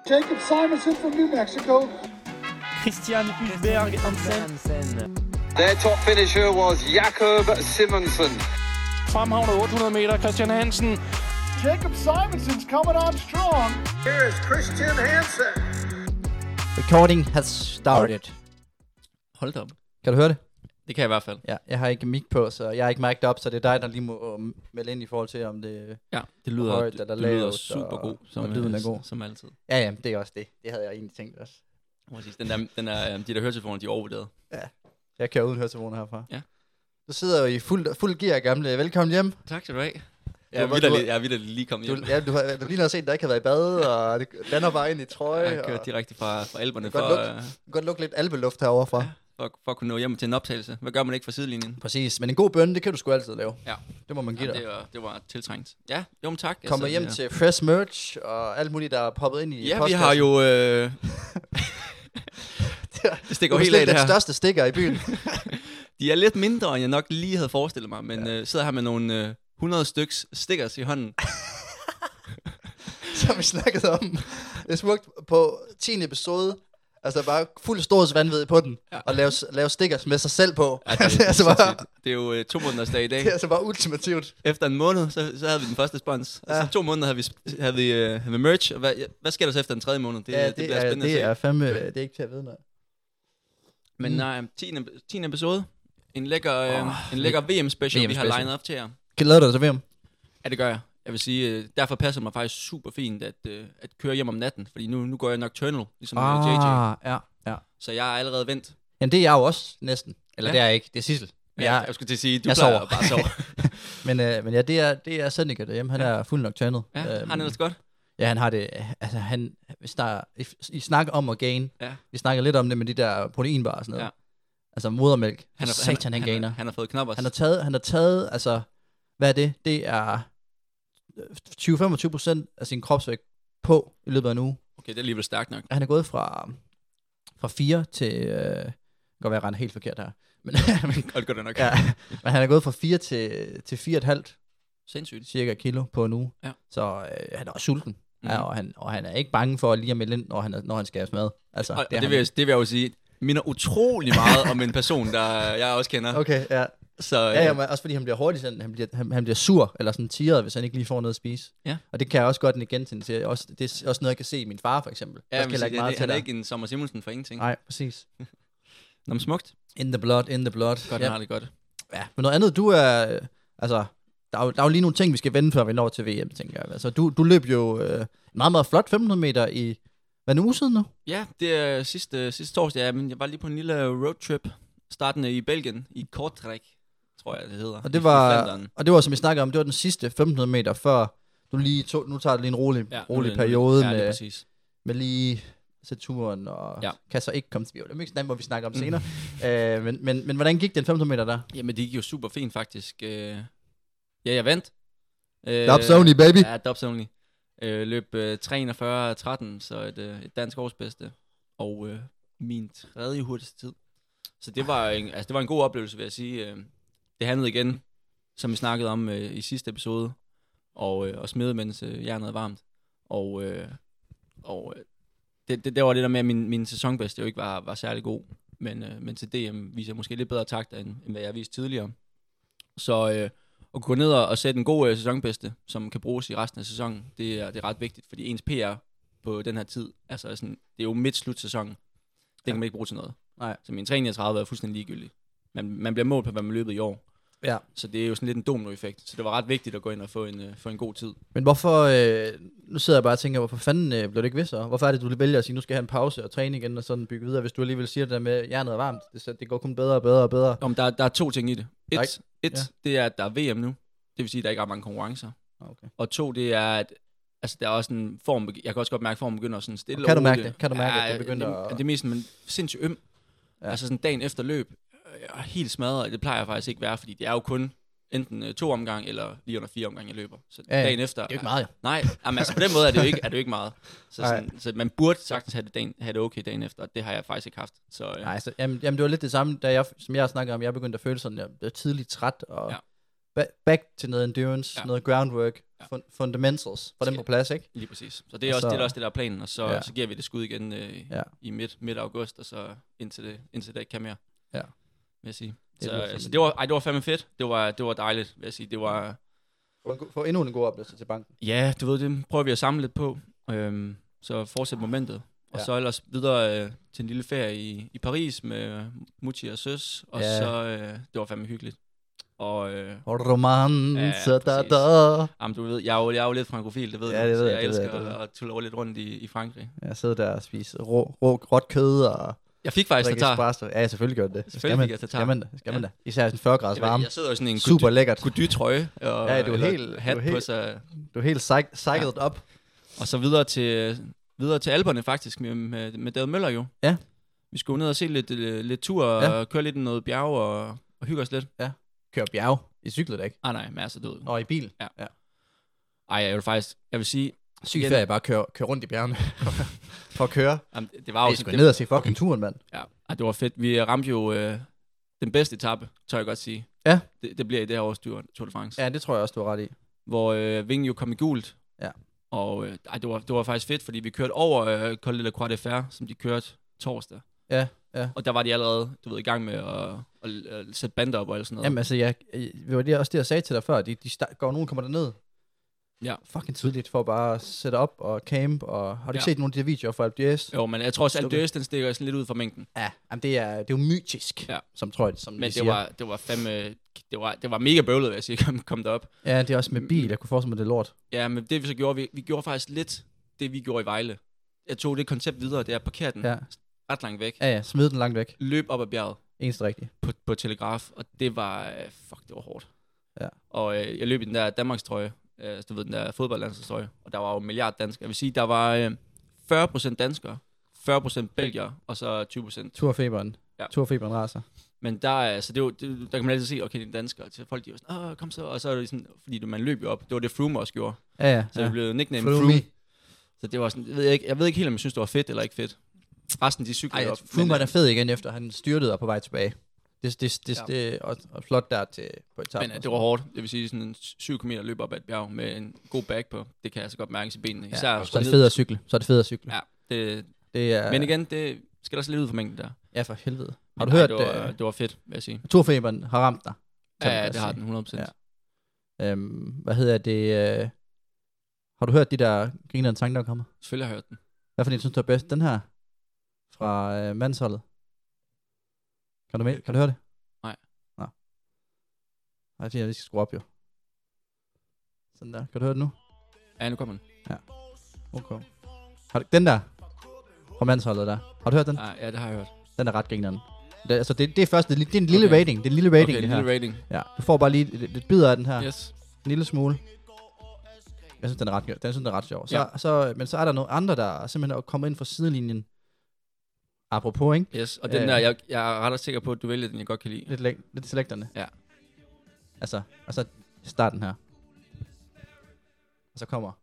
Jacob Simonson from New Mexico. Christian Hulberg Hansen. Their top finisher was Jakob Simonsen. Fremhavnet 800 meter, Christian Hansen. Jacob Simonson's coming on strong. Here is Christian Hansen. Recording has started. Hold da op. Kan du høre det? Det kan jeg i hvert fald. Ja, jeg har ikke mic på, så jeg er ikke mic'd op, så det er dig, der lige må melde ind i forhold til, om det Ja, det lyder, højt det, eller det lyder lavt, super god, og lyden er god. Som altid. Ja, det er også det. Det havde jeg egentlig tænkt også. Præcis. De der høretelefoner, de er overvurderet. Ja, jeg kører uden høretelefoner herfra. Ja. Du sidder jo i fuld gear, gamle. Velkommen hjem. Tak skal du have. Jeg er vidderligt lige kommet hjem. Du lige har set, der ikke har været i bad, og det lander bare ind i trøje. Jeg har kørt direkte fra Alperne. Du kan godt lukke lidt alpeluft herovre fra. Ja, for at kunne nå hjem til en optagelse. Hvad gør man ikke fra sidelinjen? Præcis, men en god bønne, det kan du sgu altid lave. Ja. Det må man give dig. Det var tiltrængt. Ja, jo, men tak. Kommer hjem til fresh merch og alt muligt, der er poppet ind i Ja, vi har jo... det stikker jo helt af det her. Den største stikker i byen. De er lidt mindre, end jeg nok lige havde forestillet mig, men sidder her med nogle 100 styks stickers i hånden. Som vi snakkede om. Det er smukt på 10. episode. Altså bare fuld storhedsvanvid på den. Ja. Og lave stickers med sig selv på. Ja, det er jo 2 måneders dag i dag. Det er altså bare ultimativt. Efter en måned, så havde vi den første spons. Ja. Altså 2 måneder havde vi merch. Og hvad sker der så efter den 3. måned? Det bliver spændende det er fandme, det er ikke til at vide noget. Men nej, 10. episode. En lækker VM-special, vi har lined op til jer. Kan du lave dig til VM? Ja, det gør jeg. Jeg vil sige, derfor passer det mig faktisk super fint at køre hjem om natten. Fordi nu går jeg nocturnal, ligesom JJ. Ja. Så jeg er allerede vendt. Jamen det er jeg jo også næsten. Eller det er jeg ikke, det er Sissel. Jeg skulle til at sige, du plejer bare at sove. men ja, det er Seneca derhjemme. Han er fuld nocturnal. Ja, har han ellers godt? Ja, han har det. Altså I snakker om at gain. Ja. Vi snakker lidt om det med de der proteinbar og sådan noget. Ja. Altså modermælk. Han gainer. Han har fået knoppers. Han har taget, altså, hvad er det? Det er 20-25% af sin kropsvægt på i løbet af en uge. Okay, det er alligevel stærkt nok. Han er gået fra 4 til... det kan godt være, jeg render helt forkert her. Men, det gør det nok. Ja, men han er gået fra 4 til 4,5 sindssygt cirka kilo på en uge. Ja. Så han er også sulten. Mm. Ja, og han er ikke bange for at lige at melde ind, når han skal have mad. Altså, det vil jeg jo sige, minder utrolig meget om en person, der jeg også kender. Okay, ja. Så, ja, også fordi han bliver hurtigt sådan, han bliver sur, eller sådan tirret, hvis han ikke lige får noget at spise. Ja. Og det kan jeg også godt igen til. Det er også noget, jeg kan se i min far, for eksempel. Ja, han er ikke en Sommer Simonsen for ingenting. Nej, præcis. Nå, men smukt. In the blood. Godt, har det godt. Ja, men noget andet, du er, altså, der er jo lige nogle ting, vi skal vende, før vi når til VM, tænker jeg. Altså, du løb jo meget, meget flot 1500 meter i, hvad er en uge siden nu? Ja, det er sidste torsdag, ja, men jeg var lige på en lille roadtrip, startende i Belgien, i Kortrijk, tror jeg, det hedder. Og det var, som vi snakkede om, det var den sidste 1500 meter, før du lige nu tager du lige en rolig periode med lige sætte turen, og kan så ikke komme til VM. Det er ikke sådan, hvor vi snakker om senere. Men hvordan gik den 1500 meter der? Jamen, det gik jo super fint, faktisk. Ja, jeg vandt. Dubs only, baby. Ja, dubs only. Løb 3:41.13, så et dansk årsbedste. Og min 3. hurtigste tid. Så det var en god oplevelse, vil jeg sige. Det handlede igen, som vi snakkede om i sidste episode, og smide, mens jernet er varmt. Og det var det der med, at min sæsonbedste jo ikke var særlig god. Men til DM viser jeg måske lidt bedre takter, end hvad jeg har vist tidligere. Så at gå ned og sætte en god sæsonbedste, som kan bruges i resten af sæsonen, det er ret vigtigt, fordi ens PR på den her tid, altså sådan, det er jo midt slutsæsonen. Det kan man ikke bruge til noget. Nej. Så min 3:39 er fuldstændig ligegyldig. Man bliver målt på, hvad man løbet i år. Ja. Så det er jo sådan lidt en dominoeffekt. Så det var ret vigtigt at gå ind og få en god tid. Men hvorfor, nu sidder jeg bare og tænker, hvorfor fanden blev det ikke ved så? Hvorfor er det, du vælger at sige, nu skal jeg have en pause og træne igen og sådan bygge videre, hvis du alligevel siger det der med, jernet er varmt, det går kun bedre og bedre og bedre? Om der er 2 ting i det. Et, det er, at der er VM nu. Det vil sige, at der ikke er mange konkurrencer. Okay. Og 2, det er, at altså, der er også en form, jeg kan også godt mærke, at formen begynder sådan stille. Kan du mærke det? Kan du mærke, at det begynder at... Det er mest sindssygt øm. Ja. Altså sådan dagen efter løb, jeg er helt smadret. Det plejer jeg faktisk ikke være, fordi det er jo kun enten 2 omgang eller lige under 4 omgang, jeg løber. Så dagen efter... Det er jo ikke meget, jo. Nej, altså på den måde er det jo ikke meget. Så man burde sagtens have det okay dagen efter, og det har jeg faktisk ikke haft. Så, Nej, så, jamen det var lidt det samme, som jeg snakkede om. Jeg begyndte at føle sådan, jeg blev tidligt træt, og back til noget endurance, noget groundwork, fundamentals, for dem på plads, ikke? Lige præcis. Så det er også det, der er planen, og så giver vi det skud igen i midt august, og så indtil det ikke kan mere. Ja. Vil jeg sige. Så det var fandme fedt. Det var dejligt, vil jeg sige. Det var... For endnu en god oplevelse til banken. Ja, du ved, det prøver vi at samle lidt på. Så fortsæt momentet. Og så ellers videre til en lille ferie i Paris med Mutti og Søs. Og så, det var fandme hyggeligt. Og romance, Jamen, du ved, jeg er jo lidt frankofil, det ved du. Det ved jeg elsker at tulle lidt rundt i Frankrig. Jeg sidder der og spiser råt kød og... Jeg fik faktisk tatar. Ja, selvfølgelig gør det. Selvfølgelig fik jeg tatar. Skal man da. Især sådan 40 grader varme. Jeg sidder jo sådan en super lækkert. Gody-trøje. Ja, du er helt hat på sig. Du er helt cycled op. Og så videre til Alperne faktisk med David Møller jo. Ja. Vi skulle ned og se lidt tur og køre lidt i noget bjerg og hygge os lidt. Ja. Køre bjerg i cyklet, ikke? Nej, masser død. Og i bil. Ja. Ej, jeg vil sige... Sygt ferie bare køre rundt i bjergene. For at køre. Jamen, det var jo... Jeg skulle ned og se fucking turen, mand. Ja, det var fedt. Vi ramte jo den bedste etape, tør jeg godt sige. Ja. Det bliver i det her års Tour de France. Ja, det tror jeg også, du har ret i. Hvor Vingen jo kom i gult. Ja. Og det var faktisk fedt, fordi vi kørte over Col de la Croix de Fer, som de kørte torsdag. Ja. Og der var de allerede, du ved, i gang med at sætte bander op og alt sådan noget. Jamen altså, det var det også det, jeg sagde til dig før. Nogen kommer derned. Ja. Fucking tidligt for bare at sætte op og camp. Og har du ikke set nogle af de her videoer fra Alpe d'Huez? Jo, men jeg tror også, at Alpe d'Huez, den stikker sådan lidt ud fra mængden. Ja, jamen det er jo mytisk, som tror jeg, som men det var fandme... Det var mega bøvlet, vil jeg sige, at komme derop. Ja, det er også med bil. Jeg kunne forestille mig, det er lort. Ja, men det vi så gjorde, vi gjorde faktisk lidt det, vi gjorde i Vejle. Jeg tog det koncept videre, det er at parkere den ret langt væk. Ja, smid den langt væk. Løb op ad bjerget. Eneste rigtigt. På Telegraf, og det var... det var hårdt. Ja. Og jeg løb i den der Danmarkstrøje, du ved, den der fodboldlandstrøje, og der var jo en milliard danskere. Jeg vil sige, der var 40% danskere, 40% belgier, og så 20%... Turfeberen. Ja. Turfeberen raser. Men der, altså, der kan man altid sige, okay, det er danskere. Til folk, de var sådan, kom så, og så er det sådan, fordi man løb jo op. Det var det Froome også gjorde. Ja. Så det blev nickname Froome. Så det var sådan, jeg ved ikke helt, om jeg synes, det var fedt eller ikke fedt. Resten, de cyklede op. Froome var der fed igen, efter han styrtede og på vej tilbage. Det og flot der til på etappen. Men det var hårdt. Det vil sige, sådan en 7 km løb op ad et bjerg med en god bag på. Det kan jeg så godt mærke i benene. Især så er det fedt at cykle. Ja, det er... Men igen, det skal der også lidt ud for mængden der. Ja, for helvede. Har du hørt... Det var fedt, vil jeg sige. Turfeberen har ramt dig. Ja, det har den 100%. Ja. Hvad hedder det? Har du hørt de der grinerende sange, der kommer? Selvfølgelig har jeg hørt den. Hvad for en synes du er bedst? Den her? Fra mandsholdet. Kan du høre det? Nej. Nå. Nej, det er, vi skal skrue op, jo. Sådan der. Kan du høre det nu? Ja, nu kommer den. Ja. Okay. Den der? Fra mandsholdet der. Har du hørt den? Ja, det har jeg hørt. Den er ret grinerende. Det er først, det er en lille rating. Det er en lille rating, det her. Lille rating. Ja, du får bare lige lidt bidder af den her. Yes. En lille smule. Jeg synes, den er ret sjov. Men så er der nogle andre, der simpelthen er kommet ind fra sidelinjen. Apropos, ikke? Yes, og den der, jeg er ret sikker på, at du vælger den, jeg godt kan lide. Lidt selekterne. Ja. Altså, og så starten her. Og så kommer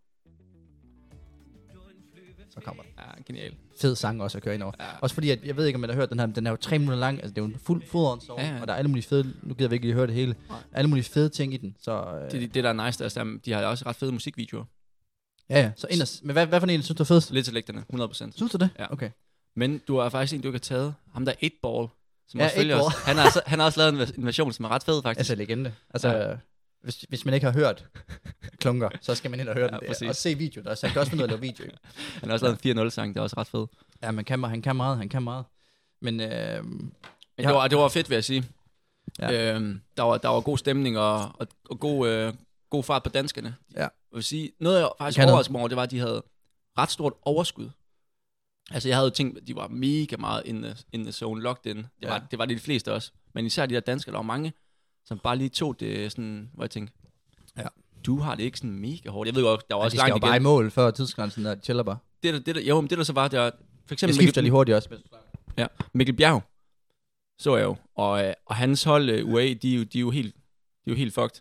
den. Ja, genial. Fed sang også at køre ind over. Ja. Også fordi, at jeg ved ikke, om man har hørt den her, men den er jo 3 minutter lang. Altså, det er jo en fuld song, og der er alle mulige fede, nu gider vi ikke lige høre det hele, alle mulige fede ting i den. Så, det der er nice, der, de har også ret fede musikvideoer. Ja. Så men hvad for en synes du er fedest? Lidt selekterne, 100%. Synes du det? Ja. Okay. Men du har faktisk en, du ikke har taget. Ham der 8Ball, som også følger os. Han har også lavet en version, som er ret fed, faktisk. Altså legende. Altså, hvis man ikke har hørt Klunker, så skal man ind og høre den. Og se video der. Så han kan også finde ud af at lave video. Han har også lavet en 4-0-sang, det er også ret fed. Ja, han kan meget. Men det var fedt, vil jeg sige. Ja. Der var god stemning og god fart på danskerne. Ja. Jeg vil sige, noget jeg faktisk overraskede mig over, det var, at de havde ret stort overskud. Altså, jeg havde jo tænkt, at de var mega meget in the zone, locked in. Det var de fleste også. Men især de der danskere, der var mange, som bare lige tog det sådan, hvor jeg tænkte, du har det ikke sådan mega hårdt. Jeg ved godt, der var også langt igen. De skal jo bare i mål før tidsgrænsen, der chiller bare. Det der så var, det var for eksempel... Jeg skifter lige hurtigt også. Ja, Mikkel Bjerg, så jeg jo. Og hans hold, UAE, de er jo helt fucked.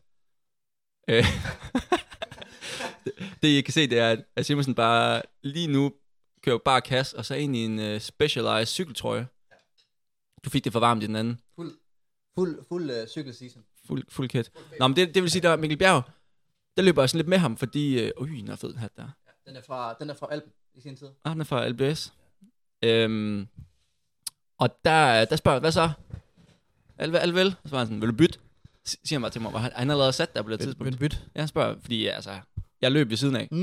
Det I kan se, det er, at Simonsen bare lige nu kører bare kasse, og så ind i en specialized cykeltrøje. Du fik det for varmt i den anden. Fuld cykelseason. Fuld kæt. Nå, men det vil sige, der Mikkel Bjerg, der løber jeg sådan lidt med ham, fordi... den er fed hat der. Den er fra Alpen i sin tid. Den er fra LBS. Og der spørger jeg, hvad så? Alt vel? Så var han sådan, vil du bytte? Siger han bare til mig, han allerede sat der på det tidspunkt. Vil du bytte? Ja, han spørger, fordi jeg løb ved siden af.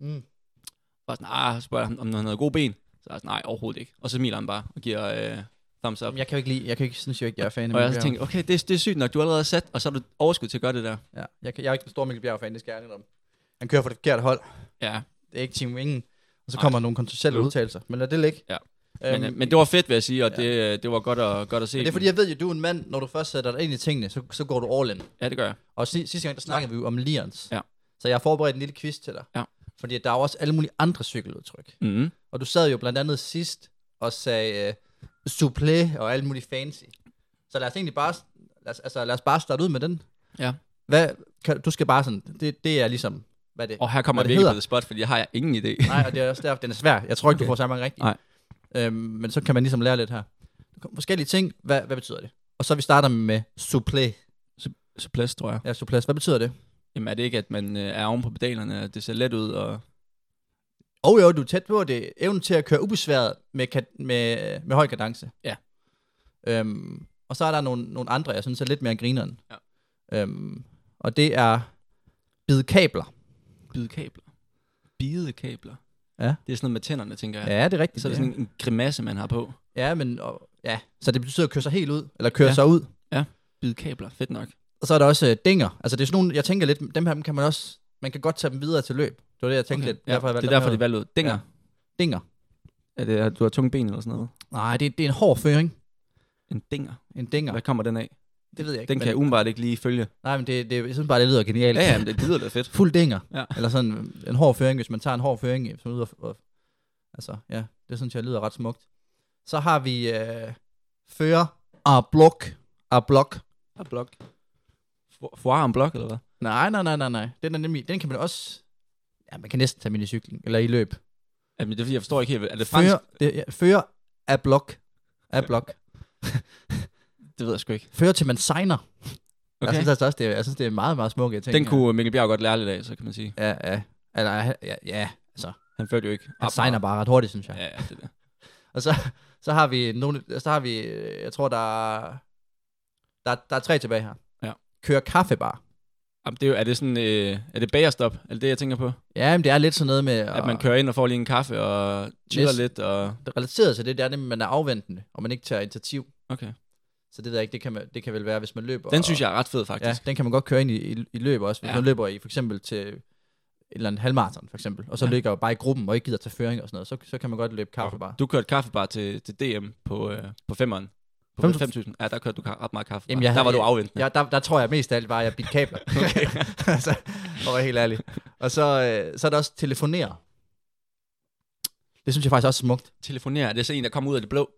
Og sådan, spørger han, om han havde gode ben. Så jeg sådan, nej, overhovedet ikke. Og så smiler han bare og giver thumbs up. Jeg synes jo ikke, jeg er fan af Mikkel Bjerg. Og jeg tænkte, okay, det er sygt nok, du er allerede sat, og så har du overskud til at gøre det der. Ja, jeg er ikke en stor Mikkel Bjerg-fan, det skal jeg om. Han kører for det forkerte hold. Ja. Det er ikke Team Wingen. Og så kommer nogle kontroversielle udtalelser. Men lad det ligge. Ja. Men det var fedt, vil jeg sige, og det var godt at se. Men det er fordi, jeg ved jo, du er en mand, når du først sætter dig ind i tingene, så går du all in. Ja, det gør jeg. Og sidste gang, der snakkede vi jo om Lians. Ja. Så jeg har forberedt en lille quiz til dig. Ja. Fordi der er jo også alle mulige andre cykeludtryk. Mm-hmm. Og du sad jo blandt andet sidst og sagde souplé og alt muligt fancy. Så lad os egentlig bare, lad os bare starte ud med den. Ja. Du skal bare sådan, det er ligesom, hvad det og her kommer jeg virkelig på det spot, fordi jeg har ingen idé. Nej, og det er også derfor, den er svær. Jeg tror ikke, du får så mange rigtigt. Nej. Men så kan man ligesom lære lidt her. Forskellige ting, hvad betyder det? Og så vi starter med souplé. Souplesse, tror jeg. Ja, souplesse. Hvad betyder det? Jamen er det ikke, at man er oven på pedalerne, at det ser let ud og... Jo, du er tæt på det. Evnen til at køre ubesværet med høj kadence. Ja. Og så er der nogle andre, jeg synes er lidt mere grineren. Ja. Og det er bidekabler. Bidekabler? Ja. Det er sådan noget med tænderne, tænker jeg. Ja, det er rigtigt. Så er det sådan en grimasse, man har på. Ja, så det betyder at køre sig helt ud, eller køre sig ud. Ja, bidekabler. Fedt nok. Og så er der også dinger. Altså det er sådan nogle, jeg tænker lidt, dem her kan man kan godt tage dem videre til løb. Det var det, jeg tænkte lidt. Ja, det er derfor, de valgte ud. Dinger. Ja. Dinger. Er det, at du har tunge ben eller sådan noget? Nej, det er en hård føring. En dinger? En dinger. Hvad kommer den af? Det ved jeg ikke. Den kan jeg umiddelbart ikke lige følge. Nej, men jeg synes bare, det lyder genialt. Ja, men det lyder da fedt. Fuld dinger. Ja. Eller sådan en hård føring, hvis man tager en hård føring. Som ud altså, ja, det synes jeg lyder ret smukt. Så har vi fører à blok. Foire en blok, eller hvad? Nej. Den kan man også... Ja, man kan næsten tage med i cykling, eller i løb. Jamen, det er fordi, jeg forstår ikke helt. Er det fransk? Fører à blok. Det ved jeg sgu ikke. Fører til man signer. Okay. Jeg synes, det er meget, meget smukke ting. Den kunne Mikkel Bjerg godt lære lidt af, så kan man sige. Ja. Altså. Han førte jo ikke. Han signer bare ret hurtigt, synes jeg. Ja, det der. Og så har vi jeg tror, der er 3 tilbage her. Ja. Kører kaffebar. Jamen, er det bagerstop? Er det det, jeg tænker på? Ja, men det er lidt sådan noget med... At man kører ind og får lige en kaffe og chiller lidt og... Det relaterer til det er det, man er afventende, og man ikke tager initiativ. Okay. Så det ved jeg ikke, det kan vel være, hvis man løber... Den synes jeg er ret fed, faktisk. Ja, den kan man godt køre ind i løb også. Hvis man løber i for eksempel til et eller andet halvmarathon, for eksempel, og så ligger bare i gruppen og ikke gider tage føring og sådan noget, så kan man godt løbe kaffebar. Du kørte kaffebar til DM på 5'eren. På 5.000. Ja, der kørte du ret meget kaffe. Jamen, der var du afventende. Ja, der tror jeg mest af alt bare, at jeg bidte kabler. Altså, for at være helt ærlig. Og så er der også telefonere. Det synes jeg faktisk også er smukt. Telefonere, det er så en, der kommer ud af det blå?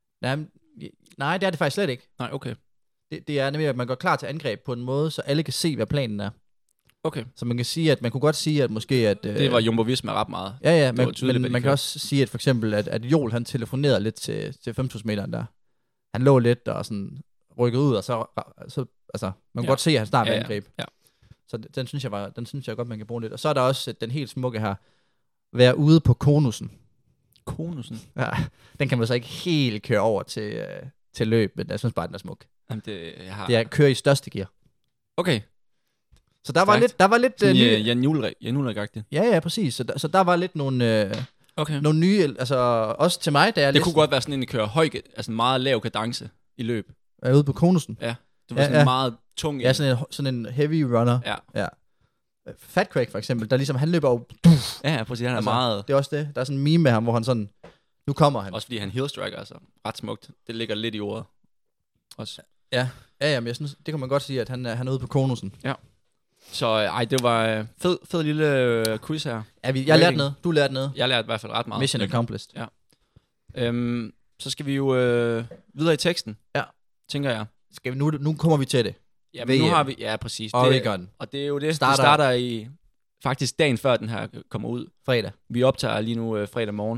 Nej, det er det faktisk slet ikke. Nej, okay. Det er nemlig, at man går klar til angreb på en måde, så alle kan se, hvad planen er. Okay. Så man kan sige, at man kunne godt sige, at måske at... det var Jumbo Visma ret meget. Ja, men man kan også sige, at for eksempel, at Joel, han telefonerede lidt til 5.000 meteren der. Han lå lidt og sådan rykkede ud, og så altså, man kan godt se, at han snart vil angreb. Ja. Så den synes jeg godt, man kan bruge lidt. Og så er der også den helt smukke her, være ude på konusen. Konusen? Ja, den kan man så ikke helt køre over til løb, men jeg synes bare, den er smuk. Jamen det er at køre i største gear. Okay. Så der var lidt Jan Juhlrik-agtigt. Ja, præcis. Så der var lidt nogle nye, altså også til mig, der det kunne godt være sådan en, der kører høj, altså meget lav kadence i løb. Er ude på konusen? Ja. Det var sådan en meget tung... Ja, sådan en heavy runner. Ja. Fat Craig for eksempel, der ligesom, han løber jo... Ja, præcis, han er meget... Det er også det. Der er sådan en meme med ham, hvor han sådan... Nu kommer han. Også fordi han heelstriker, altså. Ret smukt. Det ligger lidt i ordet. Også. Ja, men jeg synes, det kan man godt sige, at han er ude på konusen. Ja. Så det var fed lille quiz her. Ja, jeg lærte noget. Du lærte noget. Jeg lærte i hvert fald ret meget. Mission accomplished. Ja. Så skal vi jo videre i teksten. Ja. Tænker jeg. Skal vi nu kommer vi til det. Ja, men nu har vi... Ja, præcis. Oregon. Og det er jo det. Det starter i... Faktisk dagen før den her kommer ud. Fredag. Vi optager lige nu fredag morgen.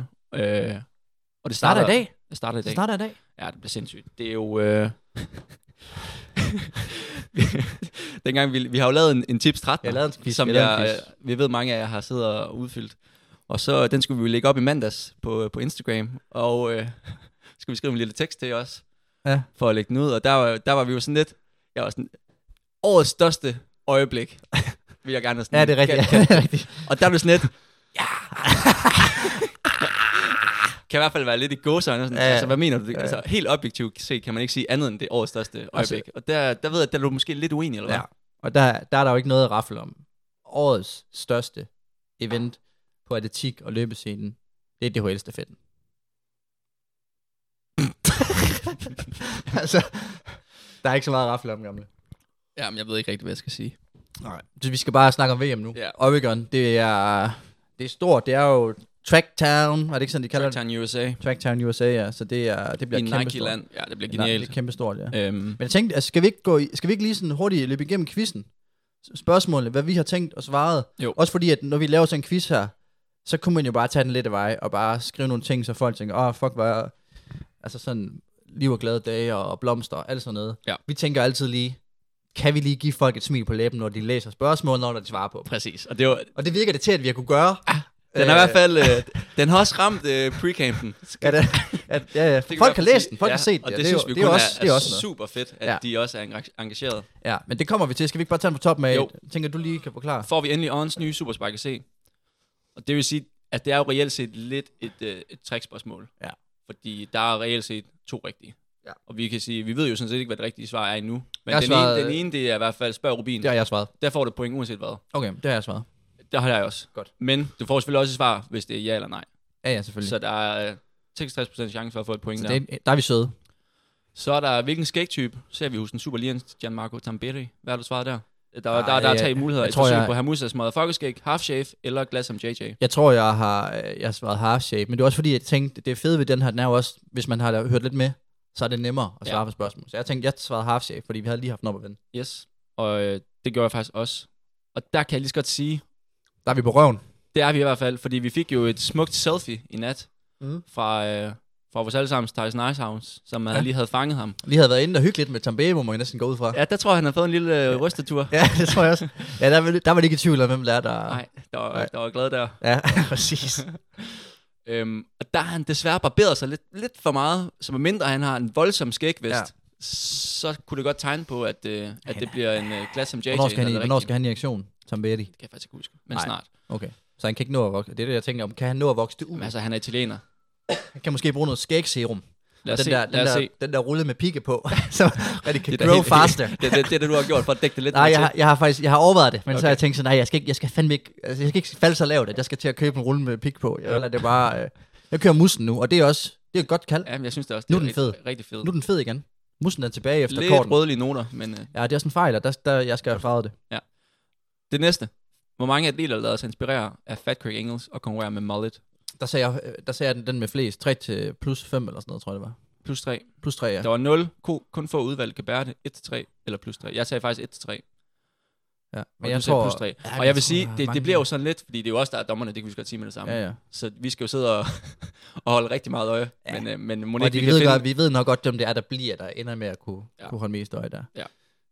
Og det starter i dag? Det starter i dag. Ja, det bliver sindssygt. Det er jo... dengang vi har jo lavet en tips 13, som vi ved mange af jer har siddet og udfyldt. Og så den skulle vi jo lægge op i mandags på Instagram, og skulle vi skrive en lille tekst til os, for at lægge den ud. Og der var vi jo sådan lidt, jeg var sådan, årets største øjeblik, vil jeg gerne have sådan. Ja, det er rigtigt. Og der blev sådan lidt, kan i hvert fald være lidt i gåsøjne. Altså, hvad mener du? Altså, helt objektivt set kan man ikke sige andet end det årets største øjeblik. Og der ved jeg, der er du måske lidt uenig, eller hvad? Ja, og der er der jo ikke noget at rafle om. Årets største event på atletik og løbescenen, det er DHL-stafetten. Altså, der er ikke så meget at rafle om, gamle. Jamen, jeg ved ikke rigtig, hvad jeg skal sige. Nej. Så vi skal bare snakke om VM nu. Yeah. Oregon, det er stort. Det er jo Tracktown, er det ikke sådan, de kalder Tracktown USA. Tracktown USA, ja. Så det bliver kæmpe stort. Land. Ja, det bliver genialt. Det er kæmpe stort, ja. Men jeg tænkte, altså, skal vi ikke lige sådan hurtigt løbe igennem quizzen? Spørgsmålene, hvad vi har tænkt og svaret. Jo. Også fordi, at når vi laver sådan en quiz her, så kunne man jo bare tage den lidt af vej, og bare skrive nogle ting, så folk tænker, fuck, hvad er... Altså sådan, liv og glade dage, og blomster, og alt sådan noget. Ja. Vi tænker altid lige, kan vi lige give folk et smil på læben, når de læser spørgsmål, når de svarer på? Præcis. Og det virker det til, at vi har kunne gøre. Den er i hvert fald, den har også ramt pre-campen. Ja. Folk har læst den, folk har set det. Og det synes vi kun er super fedt, at de også er engageret. Ja, men det kommer vi til. Skal vi ikke bare tage den på toppen af? Tænker du lige kan forklare? Får vi endelig Ons nye Superspark C. Og det vil sige, at det er jo reelt set lidt et trickspørgsmål. Ja. Fordi der er reelt set 2 rigtige. Ja. Og vi kan sige, vi ved jo sådan set ikke, hvad det rigtige svar er endnu. Men den ene, det er i hvert fald spørg Rubin. Det har jeg svaret. Der får du point uanset hvad. Okay, det har jeg svaret. Det har jeg også. Godt. Men du får selvfølgelig også et svar, hvis det er ja eller nej. Ja, selvfølgelig. Så der er 66% chance for at få et point så der. Der er vi søde. Så er der, hvilken skægtype ser vi hos den superligens Gianmarco Tamberi? Hvad har du svaret der? Der er 3 muligheder. Jeg tror, på Hermusas motherfuckerskæg, half shave eller glas som JJ. Jeg tror, jeg har svaret half shave, men det er også fordi, jeg tænkte, det er fedt ved den her, den er jo også, hvis man har hørt lidt med, så er det nemmere at svare på spørgsmål. Så jeg tænkte, jeg svarede half shave, fordi vi havde lige haft den op at vende. Yes, og det gjorde jeg faktisk også. Og der kan jeg lige så godt sige... Der er vi på røven. Det er vi i hvert fald, fordi vi fik jo et smukt selfie i nat fra vores allesammens Tyson Icehouse, som lige havde fanget ham. Lige havde været inde og hyggeligt med Tambay, må man næsten gå ud fra. Ja, der tror jeg, han har fået en lille rystetur. Ja, det tror jeg også. Ja, der var det ikke i tvivl om, hvem der. Nej, der var glad der. Ja, præcis. Og der har han desværre barberet sig lidt for meget, så medmindre han har en voldsom skægvest, så kunne det godt tegne på, at det bliver en glas som JJ. Hvornår skal han i aktion, Tambay? Det kan jeg faktisk ikke huske, men snart. Okay, så han kan ikke nå at vokse. Det er det, jeg tænker om. Kan han nå at vokse det ud? Altså, han er italiener. Han kan måske bruge noget skægserum. Lad os se. Den der rulle med pigge på, så det kan grow faster. Det er det, du har gjort for at dække det lidt. Nej, jeg har overvejet det, men så har jeg tænkt sådan, nej, jeg skal fandme ikke, altså, jeg skal ikke falde så lavt, at jeg skal til at købe en rulle med pigge på. Jeg kører mussen nu, og det er et godt kald. Ja, men jeg synes det også. Nu er den fed. Rigtig fed. Nu er den fed igen. Mussen er tilbage efter lidt korten. Lidt rødlige noter, men... Ja, det er også en fejl, og der jeg skal have farvet det. Ja. Det næste. Hvor mange atleter lader sig inspirere af Fat Craig Engels og konkurrerer med mullet? Der sagde jeg den med flest. 3 til plus 5 eller sådan noget, tror jeg det var. Plus 3. Plus 3, ja. Der var 0. Kun få udvalg kan bære det. 1 til 3 eller plus 3. Jeg sagde faktisk 1 til 3. Ja, men jeg tror... Plus 3. Ja, og jeg vil sige, det bliver jo sådan lidt, fordi det er jo også der er dommerne, det kan vi godt sige med det samme. Ja. Så vi skal jo sidde og holde rigtig meget øje. Ja. Men må ikke vi ved nok godt, hvem det er, der ender med at kunne holde mest øje der. Ja.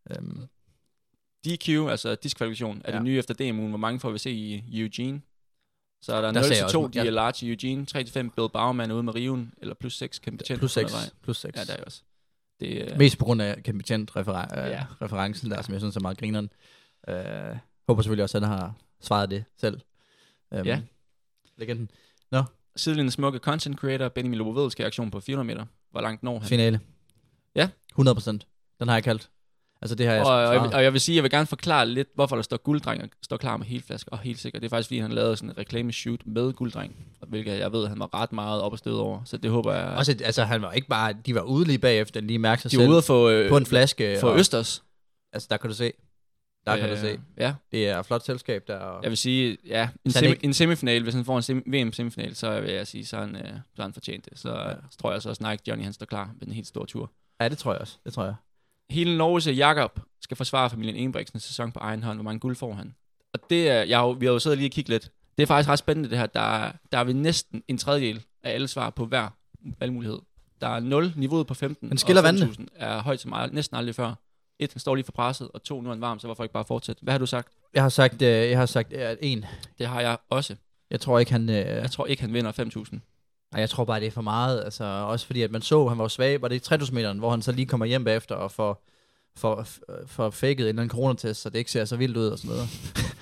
DQ, altså diskvalifikation, er det nye efter DMU'en. Hvor mange får vi se i Eugene? Så er der 0-2, de er large i Eugene. 3-5, Bill Bauerman ude med Riven. Eller plus 6, Kempetient. Plus 6. Ja, der er også. Mest på grund af Kempetient-referencen der, som jeg synes er meget grineren. Håber selvfølgelig også, at han har svaret det selv. Ja. Legenden. Sidelinjen smukke content creator, Benjamin Lobovedel skal i aktion på 400 meter. Hvor langt når han? Finale. Ja. 100%. Den har jeg kaldt. Altså det har jeg og jeg vil sige, jeg vil gerne forklare lidt, hvorfor der står gulddreng og står klar med helflaske og helt sikkert. Det er faktisk fordi, han lavede sådan en reklameshoot med gulddreng, hvilket jeg ved, han var ret meget op og stød over. Så det håber jeg... Også, altså han var ikke bare... De var ude lige bagefter, lige mærke sig selv. De var ude at få... på en flaske. For Østers. Altså der kan du se. Ja. Det er et flot selskab der. Jeg vil sige, ja, en semifinal, hvis han får en VM-semifinal, så vil jeg sige, så han fortjent det. Så tror jeg også Nike Johnny, han står klar med en helt stor tur. Ja, det tror jeg også. Hele Norges Jakob skal forsvare familien Ingebrigtsen sæson på egen hånd. Hvor mange guld får han? Og det er, vi har jo siddet lige og kigget lidt. Det er faktisk ret spændende det her. Der er vi næsten en tredjedel af alle svar på hver valgmulighed. Der er 0, niveauet på 15, men skiller og 5.000 er højt som næsten aldrig før. 1, han står lige for presset, og 2, nu er han varm, så hvorfor ikke bare fortsætte? Hvad har du sagt? Jeg har sagt 1. Det har jeg også. Jeg tror ikke, han... Jeg tror ikke, han vinder 5.000. Nej, jeg tror bare, det er for meget. Altså, også fordi, at man så, han var svag. Var det 3.000 meteren, hvor han så lige kommer hjem bagefter og får faked en eller anden coronatest, så det ikke ser så vildt ud og sådan noget.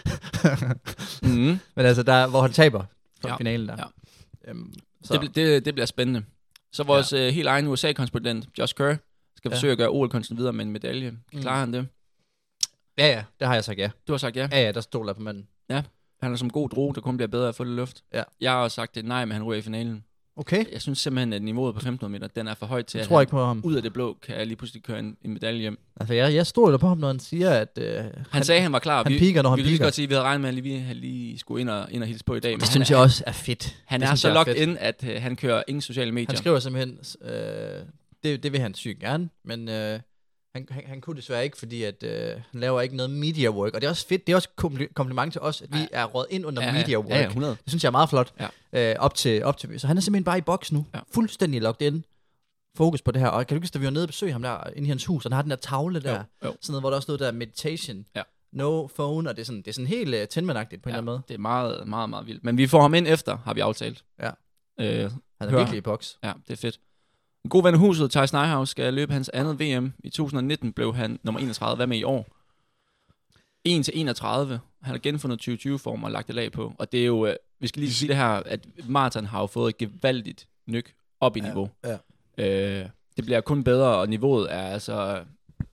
Men altså, der, hvor han taber for finalen der. Ja. Det bliver spændende. Så vores helt egen USA-korrespondent, Josh Kerr, skal forsøge at gøre OL-kunsten videre med en medalje. Klarer han det? Ja, det har jeg sagt ja. Du har sagt ja? Ja, der stoler på manden. Ja, han er som god droge, der kun bliver bedre at få det luft. Ja. Jeg har også sagt det nej, men han ryger i finalen. Okay. Jeg synes simpelthen, at niveauet på 1500 meter, den er for højt til, at han ikke på ham. Ud af det blå kan jeg lige pludselig køre en medalje hjem. Altså, jeg stoler på ham, når han siger, at... han sagde, han var klar. Han piker, når han piker. Vi kan godt sige, at vi havde regnet med, at vi lige skulle ind og hilse på i dag. Men det synes jeg også er fedt. Han er så locked ind, at han kører ingen sociale medier. Han skriver simpelthen... det vil han sygt gerne, men... Han kunne desværre ikke, fordi at, han laver ikke noget media work. Og det er også fedt, det er også kompliment til os, at vi er råd ind under media work. Ja, 100. Det synes jeg er meget flot. Ja. Op til. Så han er simpelthen bare i boks nu. Ja. Fuldstændig locked in. Fokus på det her. Og kan du ikke, da vi var nede og besøge ham der inde i hans hus, og han har den der tavle der. Jo. Sådan noget, hvor der også stod der meditation. Ja. No phone, og det er sådan helt tændmandagtigt på en eller anden måde. Det er meget, meget, meget vildt. Men vi får ham ind efter, har vi aftalt. Ja. Han er virkelig i boks. Ja, det er fedt. En god ven af huset, Thijs Nijhaus, skal løbe hans andet VM. I 2019 blev han nummer 31. Hvad med i år? 1-31. Han har genfundet 2020-form og lagt det lag på. Og det er jo, vi skal lige sige det her, at maraton har jo fået et gevaldigt nyk op i niveau. Ja. Det bliver kun bedre, og niveauet er altså,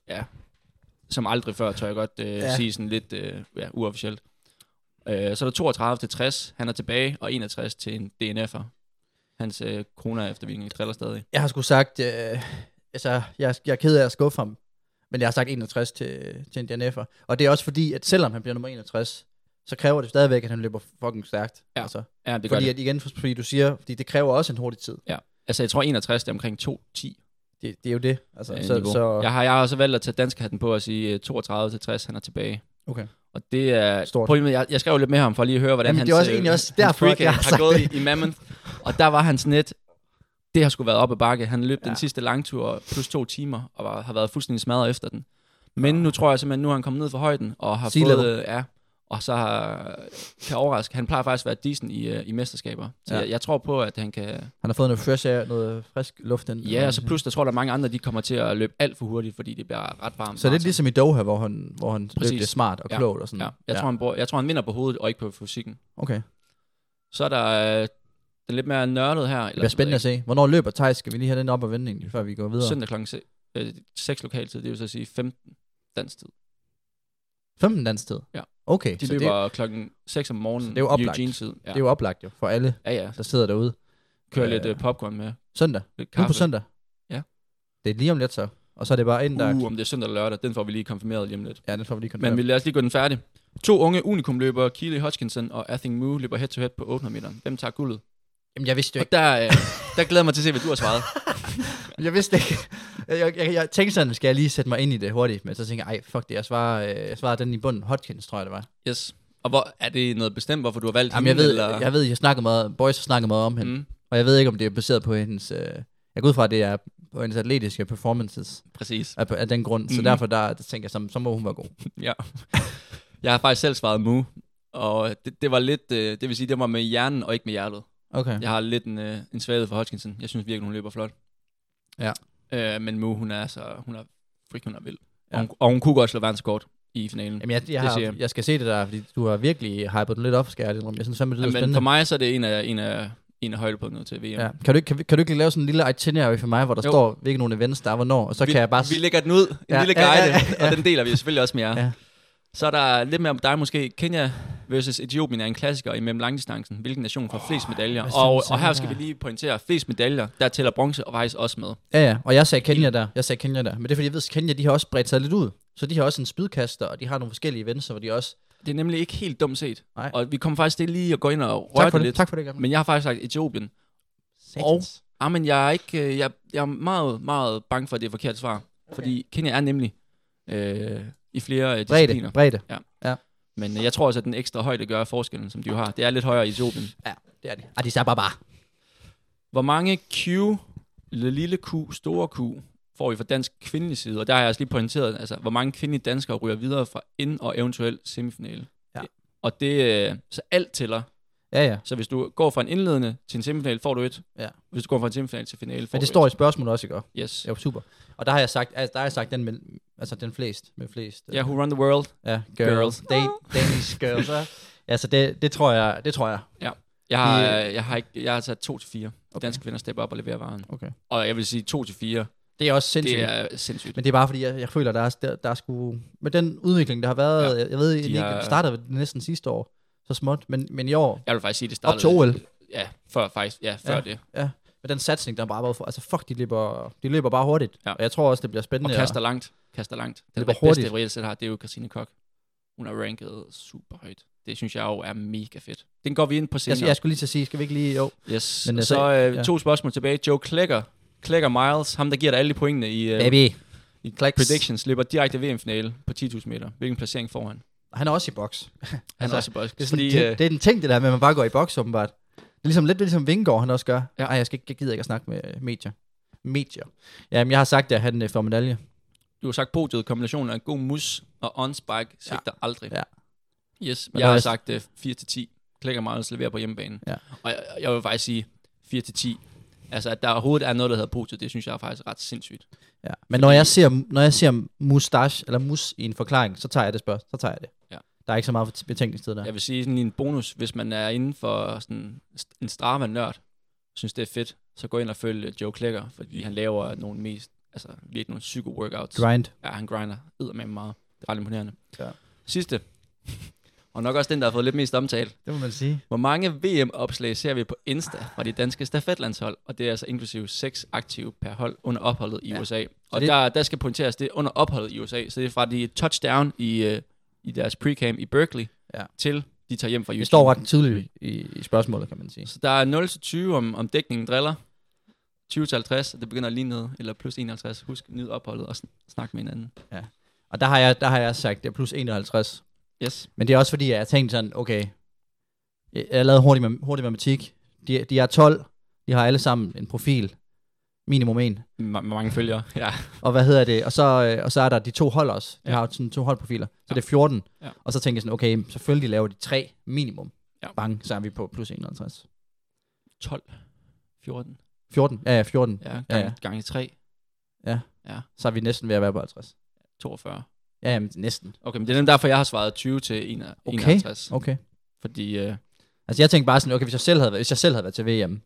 som aldrig før, tør jeg godt sige sådan lidt uofficielt. Så er der 32-60, han er tilbage, og 61 til en DNF'er. Hans corona-eftervirkning triller stadig. Jeg har sgu sagt, altså, jeg er ked af at skuffe ham, men jeg har sagt 61 til en DNF'er. Og det er også fordi, at selvom han bliver nummer 61, så kræver det stadigvæk, at han løber fucking stærkt. Ja, altså. Ja det fordi gør at igen, fordi du siger, fordi det kræver også en hurtig tid. Ja, altså jeg tror 61 det er omkring 2:10. Det er jo det. Altså, så jeg har også valgt at tage danskhatten på og sige 32-60, han er tilbage. Okay. Og det er stort. Jeg skrev lidt med ham for lige at høre, hvordan hans freak har gået i Mammoth. Og der var hans net, det har sgu været op ad bakke. Han løb den sidste langtur plus 2 timer, og har været fuldstændig smadret efter den. Men nu tror jeg simpelthen, nu har han kommet ned fra højden, og har fået, og så kan overraske. Han plejer faktisk at være decent i mesterskaber. Så jeg tror på, at han kan... Han har fået noget fresh air, noget frisk luft. Ja, og så plus, der tror der er mange andre, de kommer til at løbe alt for hurtigt, fordi det bliver ret varmt. Så det er ligesom i Doha, hvor han løb det smart og klogt og sådan. Ja. Jeg tror, han vinder på hovedet, og ikke på fysikken. Okay. Så er der den lidt mere nørdet her. Det bliver spændende at se. Hvornår løber Thijs? Skal vi lige have den op ad vendingen, før vi går videre? Søndag klokken 6 lokaltid, det vil så sige 15 dansk tid. 15 dansk tid? Ja. Okay. De løber klokken 6 om morgenen. Det er jo oplagt. Eugene-tid. Ja. Det er jo oplagt jo, for alle, der sidder derude. Kører lidt popcorn med. Søndag? Nu på søndag? Ja. Det er lige om lidt så. Og så er det bare ind der... om det er søndag eller lørdag, den får vi lige konfirmeret lige om lidt. Ja, den får vi lige konfirmeret. Men lad os lige gå den færdig. 2 unge unikumløbere, Keely Hodgkinson og Athing Mu, løber head-to-head på 800 meter. Hvem tager guldet? Jamen, jeg vidste jo ikke. Og der glæder mig til at se, hvad du har svaret. Jeg vidste ikke. Jeg tænkte sådan, skal jeg lige sætte mig ind i det hurtigt, men så tænkte jeg, fuck det, jeg svarer den i bunden. Hodgkins, tror jeg, det var. Yes. Og hvor, er det noget bestemt, hvorfor du har valgt hende? Jeg ved, Boys har snakket meget om hende. Og jeg ved ikke, om det er baseret på hendes... jeg går ud fra, at det er på hendes atletiske performances. Præcis. Af den grund. Så derfor der tænker jeg, så må hun være god. Ja. Jeg har faktisk selv svaret Mu. Og det var lidt... det vil sige, det var med hjernen og ikke med hjertet. Okay. Jeg har lidt en svaghed for Hodgkinson. Jeg synes virkelig, hun løber flot. Ja. Men Mu, hun er vild. Ja. Og hun kunne godt slå verdenskort i finalen. Jamen, jeg skal se det der, fordi du har virkelig hypet den lidt op, skal jeg synes fandme, det er spændende. Men for mig så er det en af højdepunkterne til VM. Ja. Kan du ikke lave sådan en lille itinerary for mig, hvor der står, hvilke nogle events der er, hvornår, og så kan jeg bare... Vi lægger den ud, en lille guide, og den deler vi selvfølgelig også med jer. Ja. Så er der lidt mere om dig måske. Kenya versus Etiopien er en klassiker i mellem langdistancen. Hvilken nation får flest medaljer? Og her skal vi lige pointere, flest medaljer, der tæller bronze og faktisk også med. Ja, og jeg sagde Kenya der. Men det er fordi, jeg ved, at Kenya, de har også bredt sig lidt ud. Så de har også en spydkaster, og de har nogle forskellige events, hvor de også... Det er nemlig ikke helt dumt set. Nej. Og vi kommer faktisk til lige at gå ind og røre det lidt. Tak for det, Gabriel. Men jeg har faktisk sagt Etiopien. Men jeg er ikke... Jeg er meget, meget bange for, at det er forkert svar. Okay. Fordi Kenya er nemlig i flere discipliner. Bredde. Ja. Men jeg tror også, at den ekstra højde gør forskellen, som de jo har. Det er lidt højere i Etiopien. Ja, det er det. Og de sagde bare. Hvor mange Q, lille Q, store Q, får vi fra dansk kvindelig side, og der har jeg også lige pointeret, altså, hvor mange kvindelige danskere ryger videre fra ind- og eventuelt semifinale. Ja. Og det, så alt tæller. Ja. Så hvis du går fra en indledende til en semifinale, får du 1. Ja. Hvis du går fra en semifinale til finale, får Men det du står 1. i spørgsmålet også, ikke? Yes. Ja, super. Og der har jeg sagt den med, altså den flest. Ja, who run the world? Ja, girls. Danish girls. Ja, så det tror jeg. Ja. Jeg har taget 2-4. Danske kvinder stepper op og leverer varen. Okay. Og jeg vil sige 2-4. Det er også sindssygt. Det er sindssygt. Men det er bare fordi, jeg føler, der er sgu... Med den udvikling, der har været... Jeg ved, det startede næsten sidste år. Så småt. Men i år... Jeg vil faktisk sige, det startede... Op til OL. Ja, før det. Ja. Med den satsning, der bare været for... Altså fuck, de løber bare hurtigt. Ja. Og jeg tror også, det bliver spændende. Og kaster langt. Den bedste reelt set har, det er jo Christine Koch. Hun er ranket super højt. Det synes jeg jo er mega fedt. Den går vi ind på senere. Jeg skulle lige til at sige, skal vi ikke lige... Jo. Yes. Men så 2 spørgsmål tilbage. Joe Klækker Miles, ham der giver dig alle de pointene i predictions, slipper direkte VM-finale på 10.000 meter. Hvilken placering får han? Han er også i boks. Han er også i boks. Det er den ting, det der med, at man bare går i boks, åbenbart. Det er lidt ligesom Vingegaard, han også gør. Ja. Ej, jeg gider ikke at snakke med medier. Jamen, jeg har sagt, at han får medalje. Du har sagt podiet, kombinationen af god mus og on-spike, svigter aldrig. Ja. Yes, jeg har sagt 4-10. Klækker Miles leverer på hjemmebane. Ja. Og jeg vil faktisk sige 4-10. Altså, at der overhovedet er noget, der hedder podiet, det synes jeg er faktisk ret sindssygt. Ja. Men når jeg ser mustache, eller mus i en forklaring, så tager jeg det Så tager jeg det. Ja. Der er ikke så meget betænkningstid der. Jeg vil sige sådan en bonus, hvis man er inden for sådan en Strava-nørd, synes det er fedt, så gå ind og følg Joe Klækker, fordi han laver nogle virkelig nogle psycho-workouts. Grind. Ja, han grinder eddermame meget. Det er ret imponerende. Ja. Sidste. Og nok også den, der har fået lidt mest omtale. Det må man sige. Hvor mange VM-opslag ser vi på Insta fra de danske stafetlandshold? Og det er altså inklusive 6 aktive per hold under opholdet i USA. Og der skal pointeres det under opholdet i USA. Så det er fra de touchdown i deres pre-camp i Berkeley, til de tager hjem fra Houston. Det står ret tydeligt i spørgsmålet, kan man sige. Så der er 0-20 om dækningen driller. 20-50, og det begynder at ligne noget. Eller plus 51. Husk, nyd opholdet og snak med hinanden. Ja. Og der har jeg sagt, det er plus 51. Yes. Men det er også fordi, jeg tænkte sådan, okay, jeg lavede hurtig matematik. De er 12, de har alle sammen en profil. Minimum 1. Mange følgere, ja. Og hvad hedder det? Og så er der de 2 hold også. De har sådan 2 holdprofiler. Så det er 14. Ja. Og så tænker jeg sådan, okay, selvfølgelig laver de 3 minimum. Ja. Bang, så er vi på plus 51. 12. 14. 14, ja, 14. Ja, gange 3. Ja. Så er vi næsten ved at være på 50. 42. Ja, jamen, næsten. Okay, men det er derfor, jeg har svaret 20 til 51. Okay. Fordi... Altså, jeg tænkte bare sådan, okay, hvis jeg selv havde været til VM,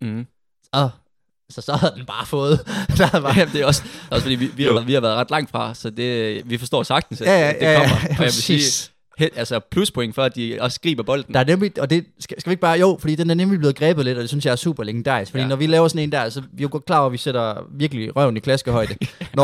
så havde den bare fået. Det er også fordi, vi har været ret langt fra, så vi forstår sagtens, at det kommer. Og jeg vil sige, altså pluspoint for, at de også griber bolden. Der er nemlig, og det skal vi ikke bare, fordi den er nemlig blevet grebet lidt, og det synes jeg er super legendarisk. Fordi når vi laver sådan en der, så vi er jo godt klar over, at vi sætter virkelig røven i klaskehøjde.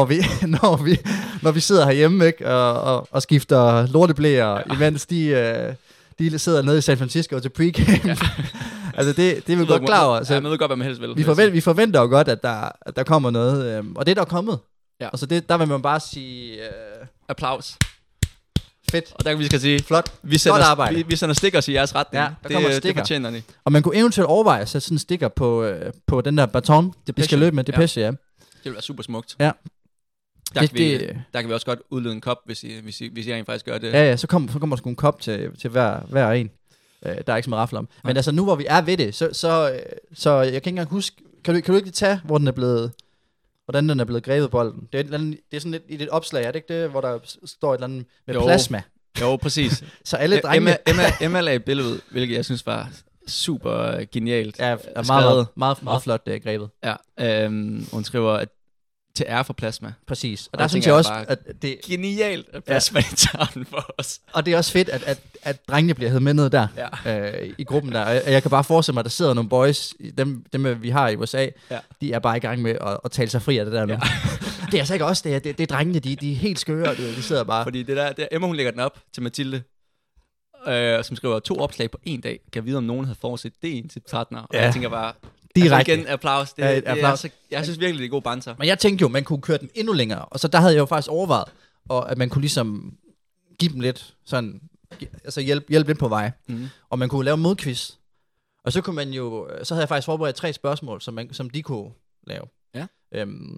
når vi sidder herhjemme, ikke, og skifter lorteblæer, imens de sidder nede i San Francisco til pre-camp. Ja. Altså det er vi godt klar over. Så jeg ved godt, hvad man helst vil. Vi forventer jo godt, at der kommer noget. Og det er der kommet. Ja. Og så der vil man bare sige... applaus. Fedt. Og der kan vi skal sige... Flot. Godt arbejde. Vi sender stickers i jeres retning. Ja, der kommer sticker. Det fortjener de. Og man kunne eventuelt overveje at sætte sådan en sticker på den der baton, vi skal løbe med. Depeche, ja. Det vil være super smukt. Ja. Der kan vi også godt udlede en kop, hvis I rent faktisk gør det. Ja, så kommer der sgu en kop til hver en. Der er ikke så meget rafle om. Men altså nu, hvor vi er ved det, så jeg kan ikke engang huske... Kan du ikke lige tage, hvordan den er blevet grebet bolden? Det er sådan lidt i et opslag, er det ikke det? Hvor der står et eller andet med plasma. Jo, præcis. Så alle drengene... Emma lagde et billede ud, hvilket jeg synes var super genialt. Ja, meget flot grebet. Ja, hun skriver, at til ære for plasma. Præcis. Og der synes jeg også, at det er genialt, at plasma tager den for os. Og det er også fedt, at drengene bliver hævet med ned der, i gruppen der. Og jeg kan bare forestille mig, at der sidder nogle boys, dem vi har i USA, de er bare i gang med at tale sig fri af det der nu. Ja. Det er altså ikke også, det er drengene, de er helt skøre, de sidder bare. Fordi det der Emma, hun lægger den op til Mathilde, som skriver 2 opslag på 1 dag. Kan vide, om nogen havde forudset det en til partner. Og jeg tænker bare... Direkte. Igen, applaus. Jeg synes virkelig, det er god banter. Men jeg tænkte jo, man kunne køre den endnu længere. Og så der havde jeg jo faktisk overvejet, at man kunne ligesom give dem lidt sådan, altså hjælpe lidt på vej. Mm. Og man kunne lave en modquiz. Og så kunne man jo, så havde jeg faktisk forberedt 3 spørgsmål, som de kunne lave. Ja.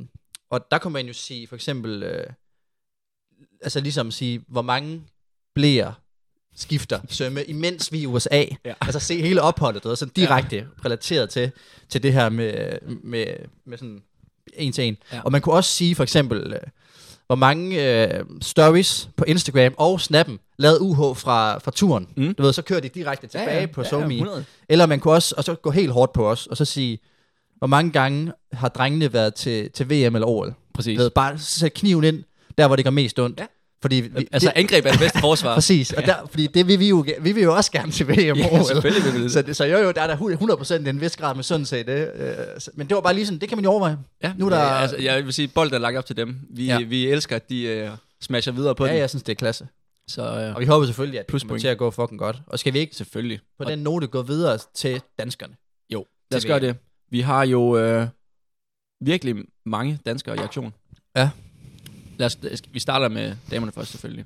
Og der kunne man jo sige, for eksempel, altså ligesom sige, hvor mange blæer skifter sømme, imens vi i USA. Ja. Altså se hele opholdet, og sådan direkte relateret til det her med sådan en til en. Ja. Og man kunne også sige, for eksempel, hvor mange stories på Instagram og Snappen lavede UH fra turen. Du ved, så kører de direkte tilbage på SoMe. Eller man kunne også og så gå helt hårdt på os, og så sige, hvor mange gange har drengene været til VM eller OL? Præcis. Ved, bare sætte kniven ind, der hvor det gør mest ondt. Ja. Fordi angreb er det bedste forsvar. Præcis, og fordi det vi vil jo også gerne til VM og OL. Selvfølgelig vil vi det. Så jo, der er 100% en vis grad med sådan set det. Men det var bare lige sådan, det kan man jo overveje. Ja, nu der altså, jeg vil sige, bolden er lagt op til dem. Vi elsker, at de smasher videre på den. Ja, jeg synes, det er klasse. Så, og vi håber selvfølgelig, at det kommer til at gå fucking godt. Og skal vi ikke selvfølgelig på den note gå videre til danskerne? Jo, lad os gøre det. Vi har jo virkelig mange danskere i aktion. Ja. Vi starter med damerne først selvfølgelig.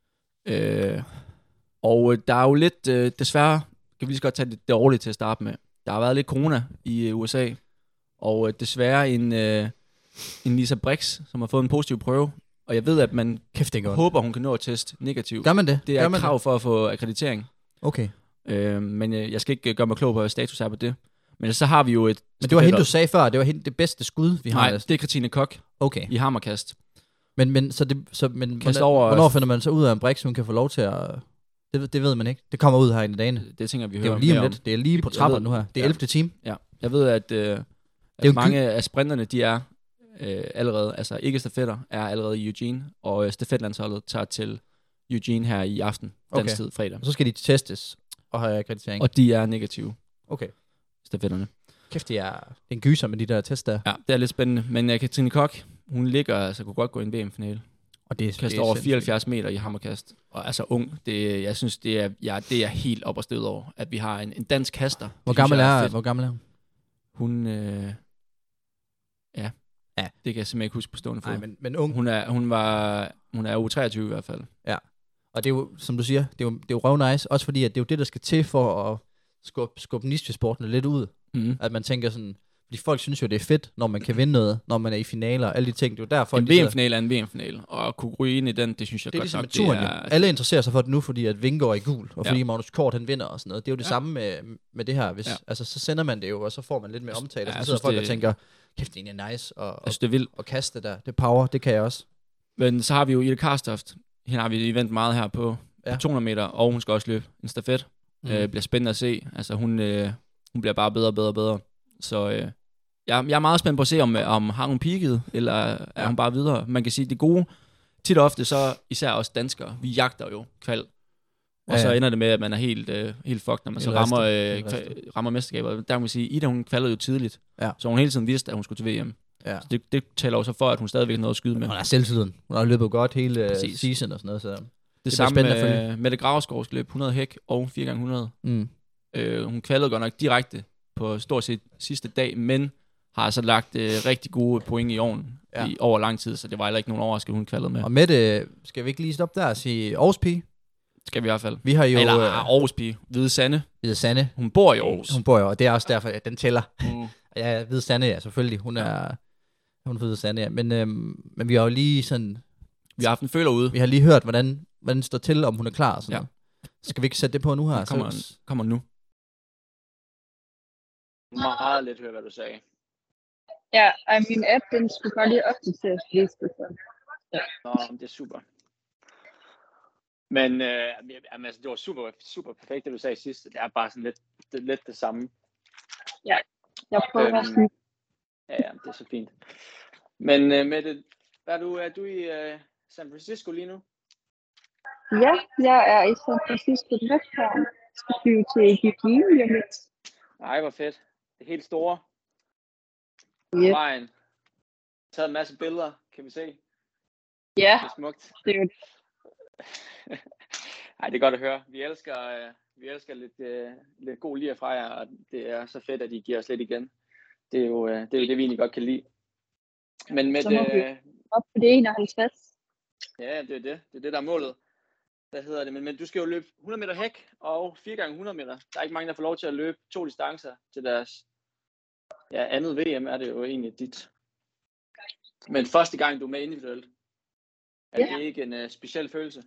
Og der er jo lidt, desværre, kan vi lige så godt tage det dårligt til at starte med. Der har været lidt corona i USA, og desværre en Lisa Brix, som har fået en positiv prøve. Og jeg ved, at man håber, hun kan nå at teste negativ. Gør man det? Det er et krav for at få akkreditering. Okay. Men jeg skal ikke gøre mig klog på, hvad status er på det. Men så har vi jo et... Men det var hende, du sagde før, det var hende det bedste skud, vi har. Nej, det er Christine Koch i hammerkast. Men hvornår finder man så ud af, en Brix, hun kan få lov til at... Det ved man ikke. Det kommer ud her i dagene. Det tænker vi hører om. Det er lige om lidt. Det er lige på trapperne nu her. Det er 11. time. Ja. Jeg ved, at mange af sprinterne, de er allerede, altså ikke stafetter, er allerede i Eugene, og stafetlandsholdet tager til Eugene her i aften, dansk tid, fredag. Og så skal de testes og have akkreditering. Og de er negative. Okay. Stafetterne. Kæft, det er en gyser med de der test der. Ja, det er lidt spændende. Men Katrine Koch, hun ligger, altså kunne godt gå i en VM-finale. Og det kaster over 74 meter i hammerkast. Og altså ung, jeg synes, det er helt op og stød over, at vi har en dansk kaster. Hvor gammel er hun? Hun, det kan jeg simpelthen ikke huske på stående fod. Nej, men ung. Hun er u 23 i hvert fald. Ja, og det er jo, som du siger, det er jo røv nice, også fordi, at det er jo det, der skal til for at skubbe nichesportene lidt ud. At man tænker sådan, fordi folk synes jo, det er fedt, når man kan vinde noget, når man er i finaler, alle de ting. Det er jo derfor, en VM-finale er en VM-finale, og at kunne ryge ind i den, det synes jeg det godt ligesom nok. Det er alle interesserer sig for det nu, fordi at Vingegaard er i gul, og fordi Magnus Kort han vinder og sådan noget. Det er jo det samme med det her. Altså, så sender man det jo, og så får man lidt mere omtale, og så sidder folk og tænker, kæft, det er egentlig nice, og kaste der. Det power, det kan jeg også. Men så har vi jo Ida Karstoft. Hende har vi event meget her på 200 meter, og hun skal også løbe en stafet. Bliver spændende at se. Altså, hun bliver bare bedre og bedre og bedre. Så jeg er meget spændt på at se, om har hun peaket, eller er hun bare videre. Man kan sige, det gode, tit og ofte, så især os danskere, vi jagter jo kval. Og så ender det med, at man er helt fucked, når man så rammer mesterskaber. Der kan man sige, Ida, hun kvalede jo tidligt. Ja. Så hun hele tiden vidste, at hun skulle til VM. Ja. Så det taler jo så for, at hun stadigvæk har noget at skyde med. Hun er selvtiden. Hun har løbet godt hele season og sådan noget. Så det samme med Mette Gravskovs løb 100 hæk og 4x100. Hun kvalede godt nok direkte på stort set sidste dag, men har så lagt rigtig gode point i ovnen over lang tid, så det var heller ikke nogen overraskelse, hun kvalede med. Og Mette, skal vi ikke lige stoppe der og sige Aarhus Pige? Skal vi i hvert fald. Vi har jo... Eller Aarhus Pige. Hvide Sande. Hun bor i Aarhus. Hun bor jo, og det er også derfor, at den tæller. Ja, Hvide Sande, ja, selvfølgelig. Hun er Hvide Sande, ja. Men vi har jo lige sådan... Vi har haft en føler ude. Vi har lige hørt, hvordan det står til, om hun er klar og sådan noget. Skal vi ikke sætte det på nu her? Kommer nu. Meget lidt høre, hvad du sagde. Ja, min app, den skulle bare lige opdateres. Det er super. Men altså, det var super perfekt, det du sagde sidst. Det er bare sådan lidt det samme. Ja, jeg prøver sådan. Ja, det er så fint. Men Mette, er du i San Francisco lige nu? Ja, jeg er i San Francisco Lufthavn. Skal flyve til Eugene lige lidt. Nej, hvor fedt. Det helt store. Ja. Vejen. Taget en masse billeder, kan vi se. Ja, det er smukt. Det er jo... Ej, det er godt at høre. Vi elsker lidt god lir fra jer, og det er så fedt, at I giver os lidt igen. Det er jo det, vi egentlig godt kan lide. Men med så må vi op på det 51. Ja, det er det. Det er det, der er målet. Hvad hedder det? Men du skal jo løbe 100 meter hæk og 4x100 meter. Der er ikke mange, der får lov til at løbe 2 distancer til deres andet VM, er det jo egentlig dit. Men første gang, du er med individuelt, er det ikke en speciel følelse?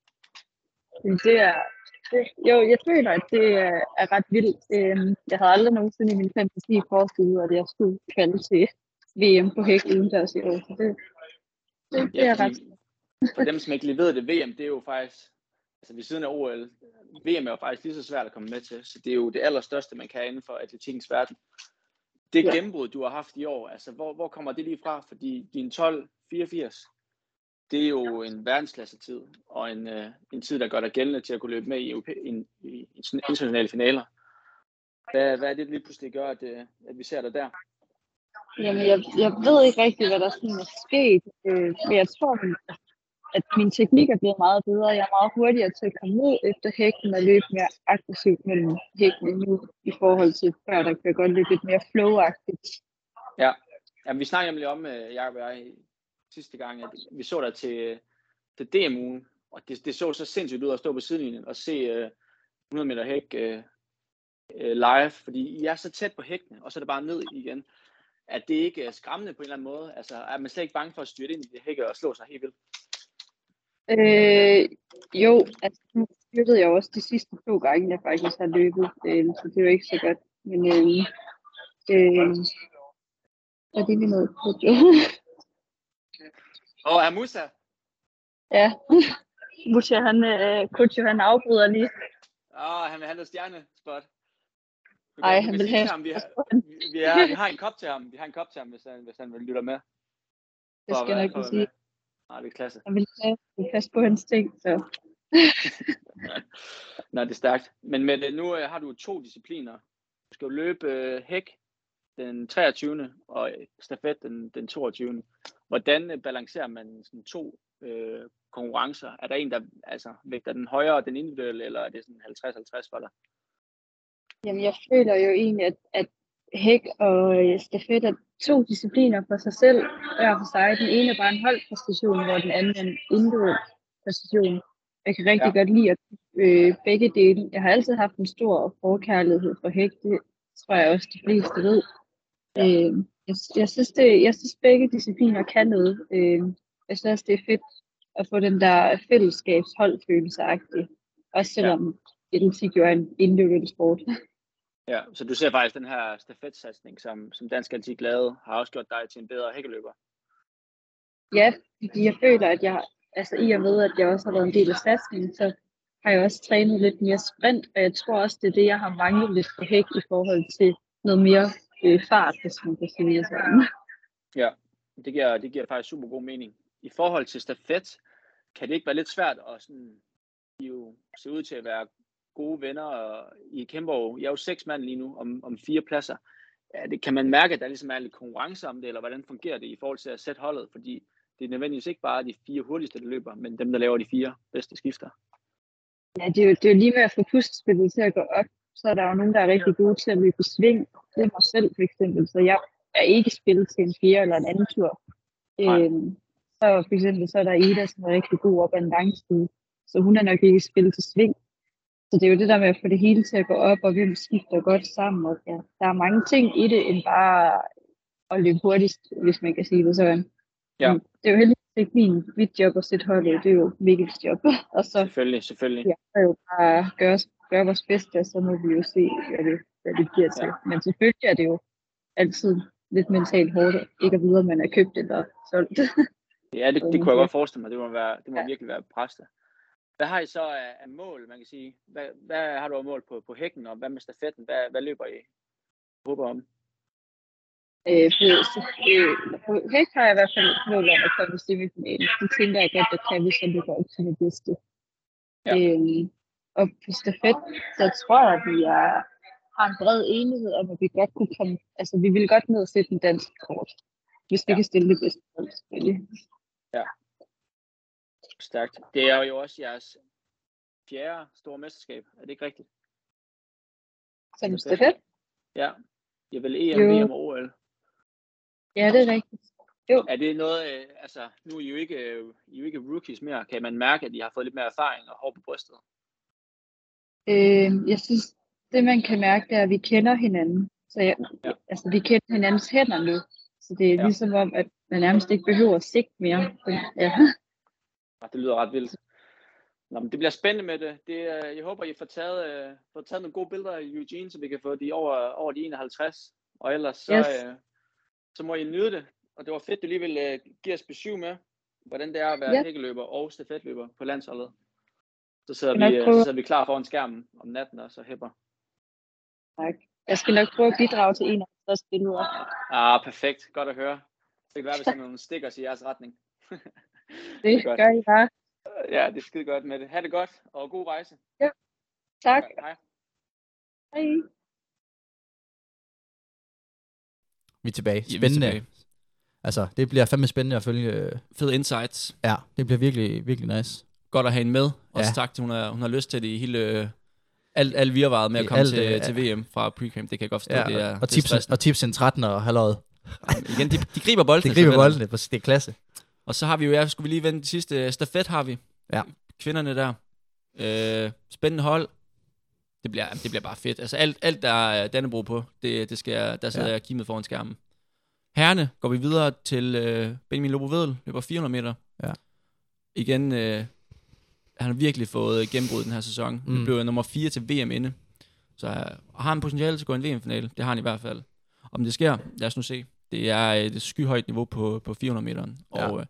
Jo, jeg føler, at det er ret vildt. Jeg havde aldrig nogensinde i min fantasi forestillet, at jeg skulle kvalde til VM på hæk udendørs i år. Så det er ret. For dem, som ikke lige ved det, VM, det er jo faktisk, altså ved siden af OL, VM er jo faktisk lige så svært at komme med til, så det er jo det allerstørste, man kan inden for atletikkens verden. Det gennembrud, du har haft i år, altså hvor kommer det lige fra? Fordi din 12.84, det er jo en verdensklasse-tid, og en tid, der gør dig gældende til at kunne løbe med i internationale finaler. Hvad er det lige pludselig gør, at vi ser dig der? Jamen, jeg ved ikke rigtig, hvad der sådan er sket, men jeg tror, at min teknik er blevet meget bedre. Jeg er meget hurtigere til at komme ud efter hækken og løbe mere aggressivt mellem hækkene nu, i forhold til før, der kan godt løbe lidt mere flow-agtigt. Ja, jamen, vi snakkede nemlig om, Jacob og jeg, sidste gang, at vi så dig til DM-ugen, og det så så sindssygt ud at stå på sidelinjen og se 100 meter hæk live, fordi I er så tæt på hækkene, og så er det bare ned igen. At det ikke er skræmmende på en eller anden måde? Altså, er man slet ikke bange for at styrte ind i det hække og slå sig helt vildt? Jo, altså nu styrtede jeg også de sidste 2 gange, jeg faktisk har løbet, så det er jo ikke så godt. Men er det lige noget? Og Musa? Ja, Musa, han afbryder lige. Han vil have noget stjernespot. Nej, han vil have. Vi har en kop til ham. Vi har en kop til ham, hvis han vil lytte med. Det skal jeg ikke sige. Nej, det er klasse. Han vil passe på hans ting, så. Nej, det er stærkt. Men nu har du 2 discipliner. Du skal jo løbe hæk den 23. og stafet den 22. Hvordan balancerer man sådan 2 konkurrencer? Er der en, der vægter den højere, den individuelle, eller er det sådan 50-50 for dig? Jamen, jeg føler jo egentlig, at hæk og stafet er 2 discipliner for sig selv, hver for sig. Den ene er bare en holdpræstation, hvor den anden er en individuel præstation. Jeg kan rigtig godt lide at begge dele. Jeg har altid haft en stor forkærlighed for hæk. Det tror jeg også, de fleste ved. Jeg synes begge discipliner kan noget. Jeg synes, det er fedt at få den der fællesskabsholdfølelse-agtige. Også selvom atletik jo er en individuel sport. Ja, så du ser faktisk den her stafetsatsning, som Dansk Atletik lavede, har også gjort dig til en bedre hækkeløber? Ja, fordi jeg føler, at i og med, at jeg også har været en del af satsningen, så har jeg også trænet lidt mere sprint, og jeg tror også, det er det, jeg har manglet lidt på hæk i forhold til noget mere fart, hvis man kan sige sådan. Ja, det giver faktisk super god mening. I forhold til stafet, kan det ikke være lidt svært at sådan, I jo se ud til at være gode venner, og I kæmper jo, jeg er jo 6 mand lige nu om 4 pladser. Kan man mærke, at der ligesom er lidt konkurrence om det, eller hvordan fungerer det i forhold til at sætte holdet? Fordi det er nødvendigvis ikke bare de 4 hurtigste, der løber, men dem, der laver de 4 bedste skifter. Ja, det er jo lige med at få pustespillet til at gå op, så er der jo nogen, der er rigtig gode til at løbe i sving. Det er mig selv for eksempel, så jeg er ikke spillet til en 4 eller en anden tur. Så for eksempel så er der Ida, som er rigtig god op ad en langside, så hun er nok ikke spillet til sving. Så det er jo det der med at få det hele til at gå op, og hvem skifter godt sammen. Og ja, der er mange ting i det, end bare at løbe hurtigst, hvis man kan sige det sådan. Ja. Det er jo heldigvis ikke mit job at sætte holdet, det er jo Mikkels job. Og så, Selvfølgelig. Ja, så er jo bare gøre vores bedste, og så må vi jo se, hvad det bliver til. Men selvfølgelig er det jo altid lidt mentalt hårdt, ikke at vide, om man er købt eller solgt. Ja, det kunne jeg godt forestille mig. Det må virkelig være presset. Hvad har I så af mål, man kan sige? Hvad har du af mål på hækken, og hvad med stafetten? Hvad løber I håber om? På hæk har jeg i hvert fald mål om at komme i semifinalen. Det tænker jeg godt, at kan vi så løber op til det bedste. Ja. Og på stafet, så tror jeg, at vi har en bred enighed om, at vi godt kunne komme, altså vi vil godt ned og sætte en dansk kort, hvis vi kan stille det bedste hold, selvfølgelig. Ja. Stærkt. Det er jo også jeres 4. store mesterskab. Er det ikke rigtigt? Som stafet? Ja. Jeg vil EM, VM og OL. Ja, det er rigtigt. Jo. Er det noget, nu er I jo ikke rookies mere. Kan man mærke, at I har fået lidt mere erfaring og hår på brystet? Jeg synes, det man kan mærke, det er, at vi kender hinanden. Så vi kender hinandens hænder nu. Så det er ligesom om, at man nærmest ikke behøver at sigte mere. Ja. Det lyder ret vildt. Nå, men det bliver spændende med det. Jeg håber, I får taget nogle gode billeder af Eugene, så vi kan få de over de 51. Og ellers så må I nyde det. Og det var fedt, du lige ville give os besøg med, hvordan det er at være hækkeløber og stafetløber på landsholdet. Så sidder vi klar foran skærmen om natten og så hæpper. Tak. Jeg skal nok prøve at bidrage til 51 billeder. Perfekt. Godt at høre. Det kan være, hvis der er nogle stickers i jeres retning. Det gør I bare. Ja, det er skide godt med det. Ha' det godt, og god rejse. Ja, tak. Hej. Hej. Vi er tilbage. Spændende. Altså, det bliver fandme spændende at følge. Fed insights. Ja, det bliver virkelig, virkelig nice. Godt at have hende med. Også tak til, hun har lyst til det i hele... Alt virvaret med at komme til VM fra pre-camp, det kan jeg godt forstå. Det er, og tips en 13'er og halvøjet. Igen, de griber boldene. Det er klasse. Og så har vi jo, skulle vi lige vende det sidste stafet, har vi. Ja. Kvinderne der. Spændende hold. Det bliver bare fedt. Altså alt der er Dannebrog på, der sidder jeg kimet foran skærmen. Herrene går vi videre til Benjamin Lobo-Vedel, løber 400 meter. Ja. Igen, han har virkelig fået gennembrud den her sæson. Det blev nummer 4 til VM inde. Så har han potentiale til at gå i en VM-finale. Det har han i hvert fald. Om det sker, lad os nu se. Det er et skyhøjt niveau på 400 meteren. Og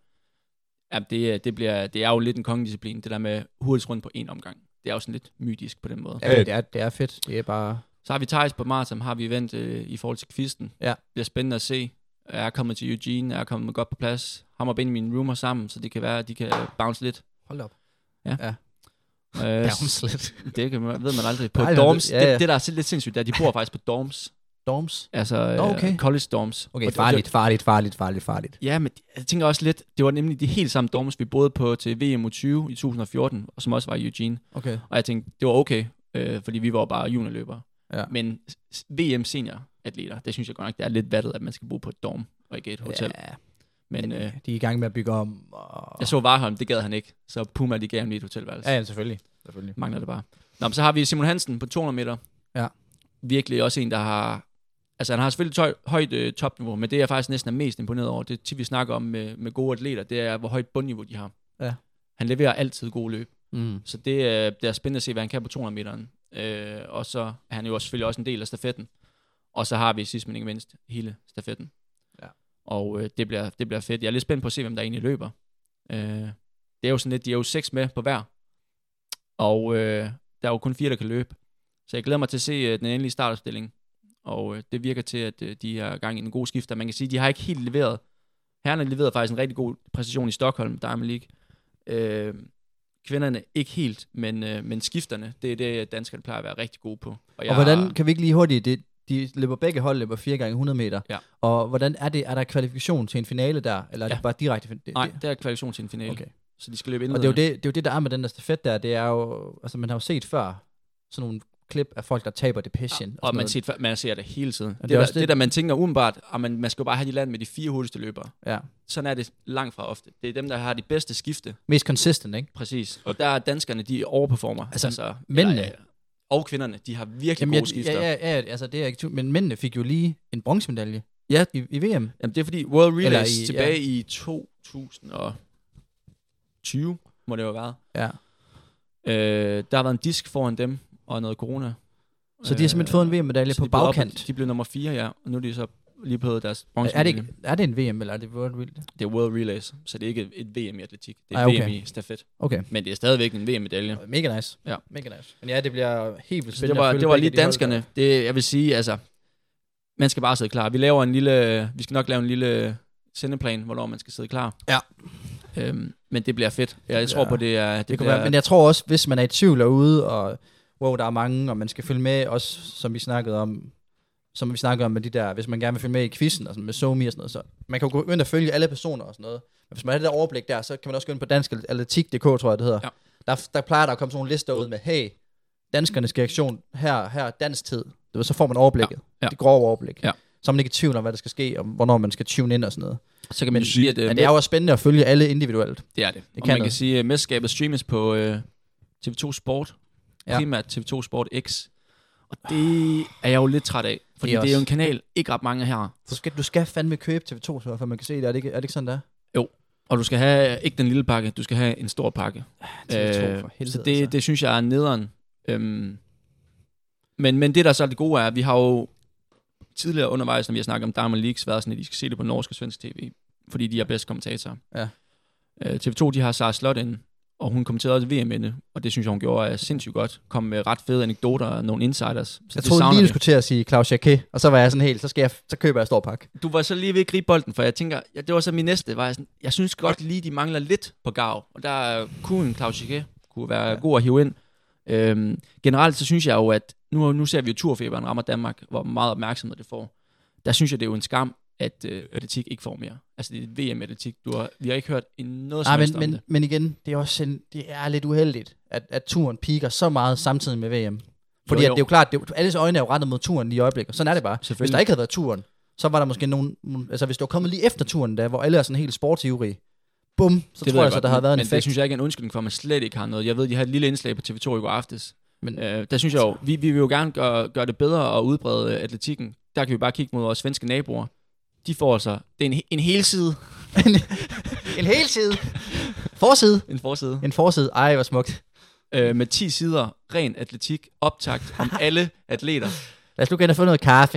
det er jo lidt en kongedisciplin, det der med hurtigt rundt på en omgang. Det er jo sådan lidt mytisk på den måde. Ja, det er fedt. Det er bare... Så har vi Thijs på maraton, har vi vendt i forhold til kvisten. Ja. Det bliver spændende at se. Jeg er kommet til Eugene, jeg er kommet godt på plads. Ham og Benjamin roomer sammen, så det kan være, at de kan bounce lidt. Hold op. Ja. Bounce lidt. Det ved man aldrig. På dorms, det der er lidt sindssygt, de bor faktisk på dorms. Dorms? Altså college dorms. Okay, farligt. Ja, men jeg tænker også lidt, det var nemlig de helt samme dorms, vi boede på til VM U20 i 2014, og som også var i Eugene. Okay. Og jeg tænkte, det var okay, fordi vi var bare juniorløbere. Ja. Men VM senioratleter, det synes jeg godt nok, det er lidt vattet, at man skal bo på et dorm og ikke et hotel. Ja. Men de er i gang med at bygge om. Og... Jeg så Varholm, det gad han ikke. Så Puma, de gav ham lige et hotelværelse. Ja, selvfølgelig. Mangler det bare. Nå, men så har vi Simon Hansen på 200 meter. Ja. Virkelig også en, der har... Altså, han har selvfølgelig højt topniveau, men det jeg faktisk næsten er mest imponeret over, det tit vi snakker om med gode atleter, det er, hvor højt bundniveau de har. Ja. Han leverer altid gode løb. Så det er spændende at se, hvad han kan på 200 meteren. Og så er han jo selvfølgelig også en del af stafetten. Og så har vi sidst men ikke mindst hele stafetten. Ja. Og det bliver fedt. Jeg er lidt spændt på at se, hvem der egentlig løber. Det er jo sådan lidt, de er jo 6 med på hver. Og der er jo kun 4, der kan løbe. Så jeg glæder mig til at se den endelige startopstilling. Og det virker til, at de har gang i en god skifter. Man kan sige, at de har ikke helt leveret. Herrerne leverede faktisk en rigtig god præstation i Stockholm Diamond League. Kvinderne ikke helt, men skifterne, det er det, danskerne plejer at være rigtig gode på. Og hvordan, kan vi ikke lige hurtigt, de løber begge hold, løber 4 gange 100 meter. Ja. Og hvordan er der kvalifikation til en finale der, eller er det bare direkte? Nej, det er kvalifikation til en finale. Okay. Så de skal løbe ind. Og det er jo det, der er med den der stafet der, det er jo, altså man har jo set før sådan nogle klip af folk, der taber depression. Ja, og man ser det hele tiden. Og det der man tænker umiddelbart, at man skal jo bare have de land med de 4 hurtigste løbere. Ja. Sådan er det langt fra ofte. Det er dem, der har de bedste skifte. Mest consistent, ikke? Præcis. Og der er danskerne, de overperformer. Altså mændene. Og kvinderne, de har virkelig gode skifter. Ja, altså det er ikke men mændene fik jo lige en bronzemedalje i VM. Jamen det er fordi World Relays tilbage i 2020, må det jo have været. Ja. Der har været en disk foran dem, og noget corona. Så de har simpelthen fået en VM-medalje på bagkant? De blev nummer 4, ja. Og nu er de så lige på deres bronzemedalje. Er det en VM, eller er det World Relays? Det er World Relays, så det er ikke et VM i atletik. Det er VM i stafet. Okay. Men det er stadigvæk en VM-medalje. Mega nice. Ja. Mega nice. Men ja, det bliver helt vildt spændende. Det var lige danskerne. Det, jeg vil sige, altså, man skal bare sidde klar. Vi skal nok lave en lille sendeplan, hvornår man skal sidde klar. Ja. Men det bliver fedt. Jeg tror på, det er... Det være, men jeg tror også, hvis man er i tvivl derude, og der er mange, og man skal følge med, også som vi snakkede om med de der, hvis man gerne vil følge med i quizzen, og sådan med SoMe og sådan noget, så man kan jo gå ind og følge alle personer og sådan noget. Men hvis man har det der overblik der, så kan man også gå ind på danskatletik.dk, tror jeg det hedder. Ja. Der plejer der at komme sådan nogle lister ud med, hey, danskernes reaktion her dansk tid. Så får man overblikket. Ja. Det grove overblik. Ja. Så er man ikke i tvivl om, hvad der skal ske, og hvornår man skal tune ind og sådan noget. Så kan man sige, at det er jo spændende at følge alle individuelt. Det er det. Og man kan sige, at mesterskabet streames på TV2 Sport. Primært TV2 Sport X. Og det er jeg jo lidt træt af, fordi det er jo en kanal, ikke ret mange her. Du skal fandme købe TV2, så man kan se det. Er det ikke sådan, der? Jo, og du skal have ikke den lille pakke, du skal have en stor pakke. TV2 for helvede, så det synes jeg er nederen. Men det, der så er det gode, er, at vi har jo tidligere undervejs, når vi har snakket om Diamond League, været sådan, at de skal se det på norsk og svensk tv, fordi de er bedst kommentatorer. Ja. TV2, de har Sara Slot inde, og hun kommenterede også VM inde, og det synes jeg, hun gjorde sindssygt godt. Kom med ret fede anekdoter og nogle insiders. Så jeg troede lige, du skulle til at sige Claus Jacquet, og så var jeg sådan helt, så køber jeg stor pakke. Du var så lige ved at gribe bolden, for jeg tænker, det var så min næste, jeg synes godt lige, de mangler lidt på gav, og der kunne en Claus Jacquet kunne være god at hive ind. Generelt så synes jeg jo, at nu ser vi jo turfeberen rammer Danmark, hvor meget opmærksomhed det får. Der synes jeg, det er jo en skam, at atletik ikke får mere. Altså det er VM-atletik. Vi har ikke hørt noget som helst om det. Men igen, det er lidt uheldigt, at turen piker så meget samtidig med VM. Fordi jo. At det er jo klart, alles øjne er jo rettet mod turen lige i øjeblikket. Sådan er det bare. Hvis der ikke havde været turen, så var der måske nogen... Altså hvis det var kommet lige efter turen, der, hvor alle er sådan helt sportsivrige, bum, så det tror jeg så, der havde været en effekt. Men det synes jeg ikke er en undskyldning for, at man slet ikke har noget. Jeg ved, de har et lille indslag på TV2 i går aftes. Men der synes jeg jo, vi vil jo gerne gøre det bedre og udbrede atletikken. Der kan vi bare kigge mod vores svenske naboer. De får altså, det er en hel side. En hel side? Forside? En forside. Ej, hvor smukt. Med 10 sider, ren atletik, optakt om alle atleter. Lad os nu gerne få noget kaffe.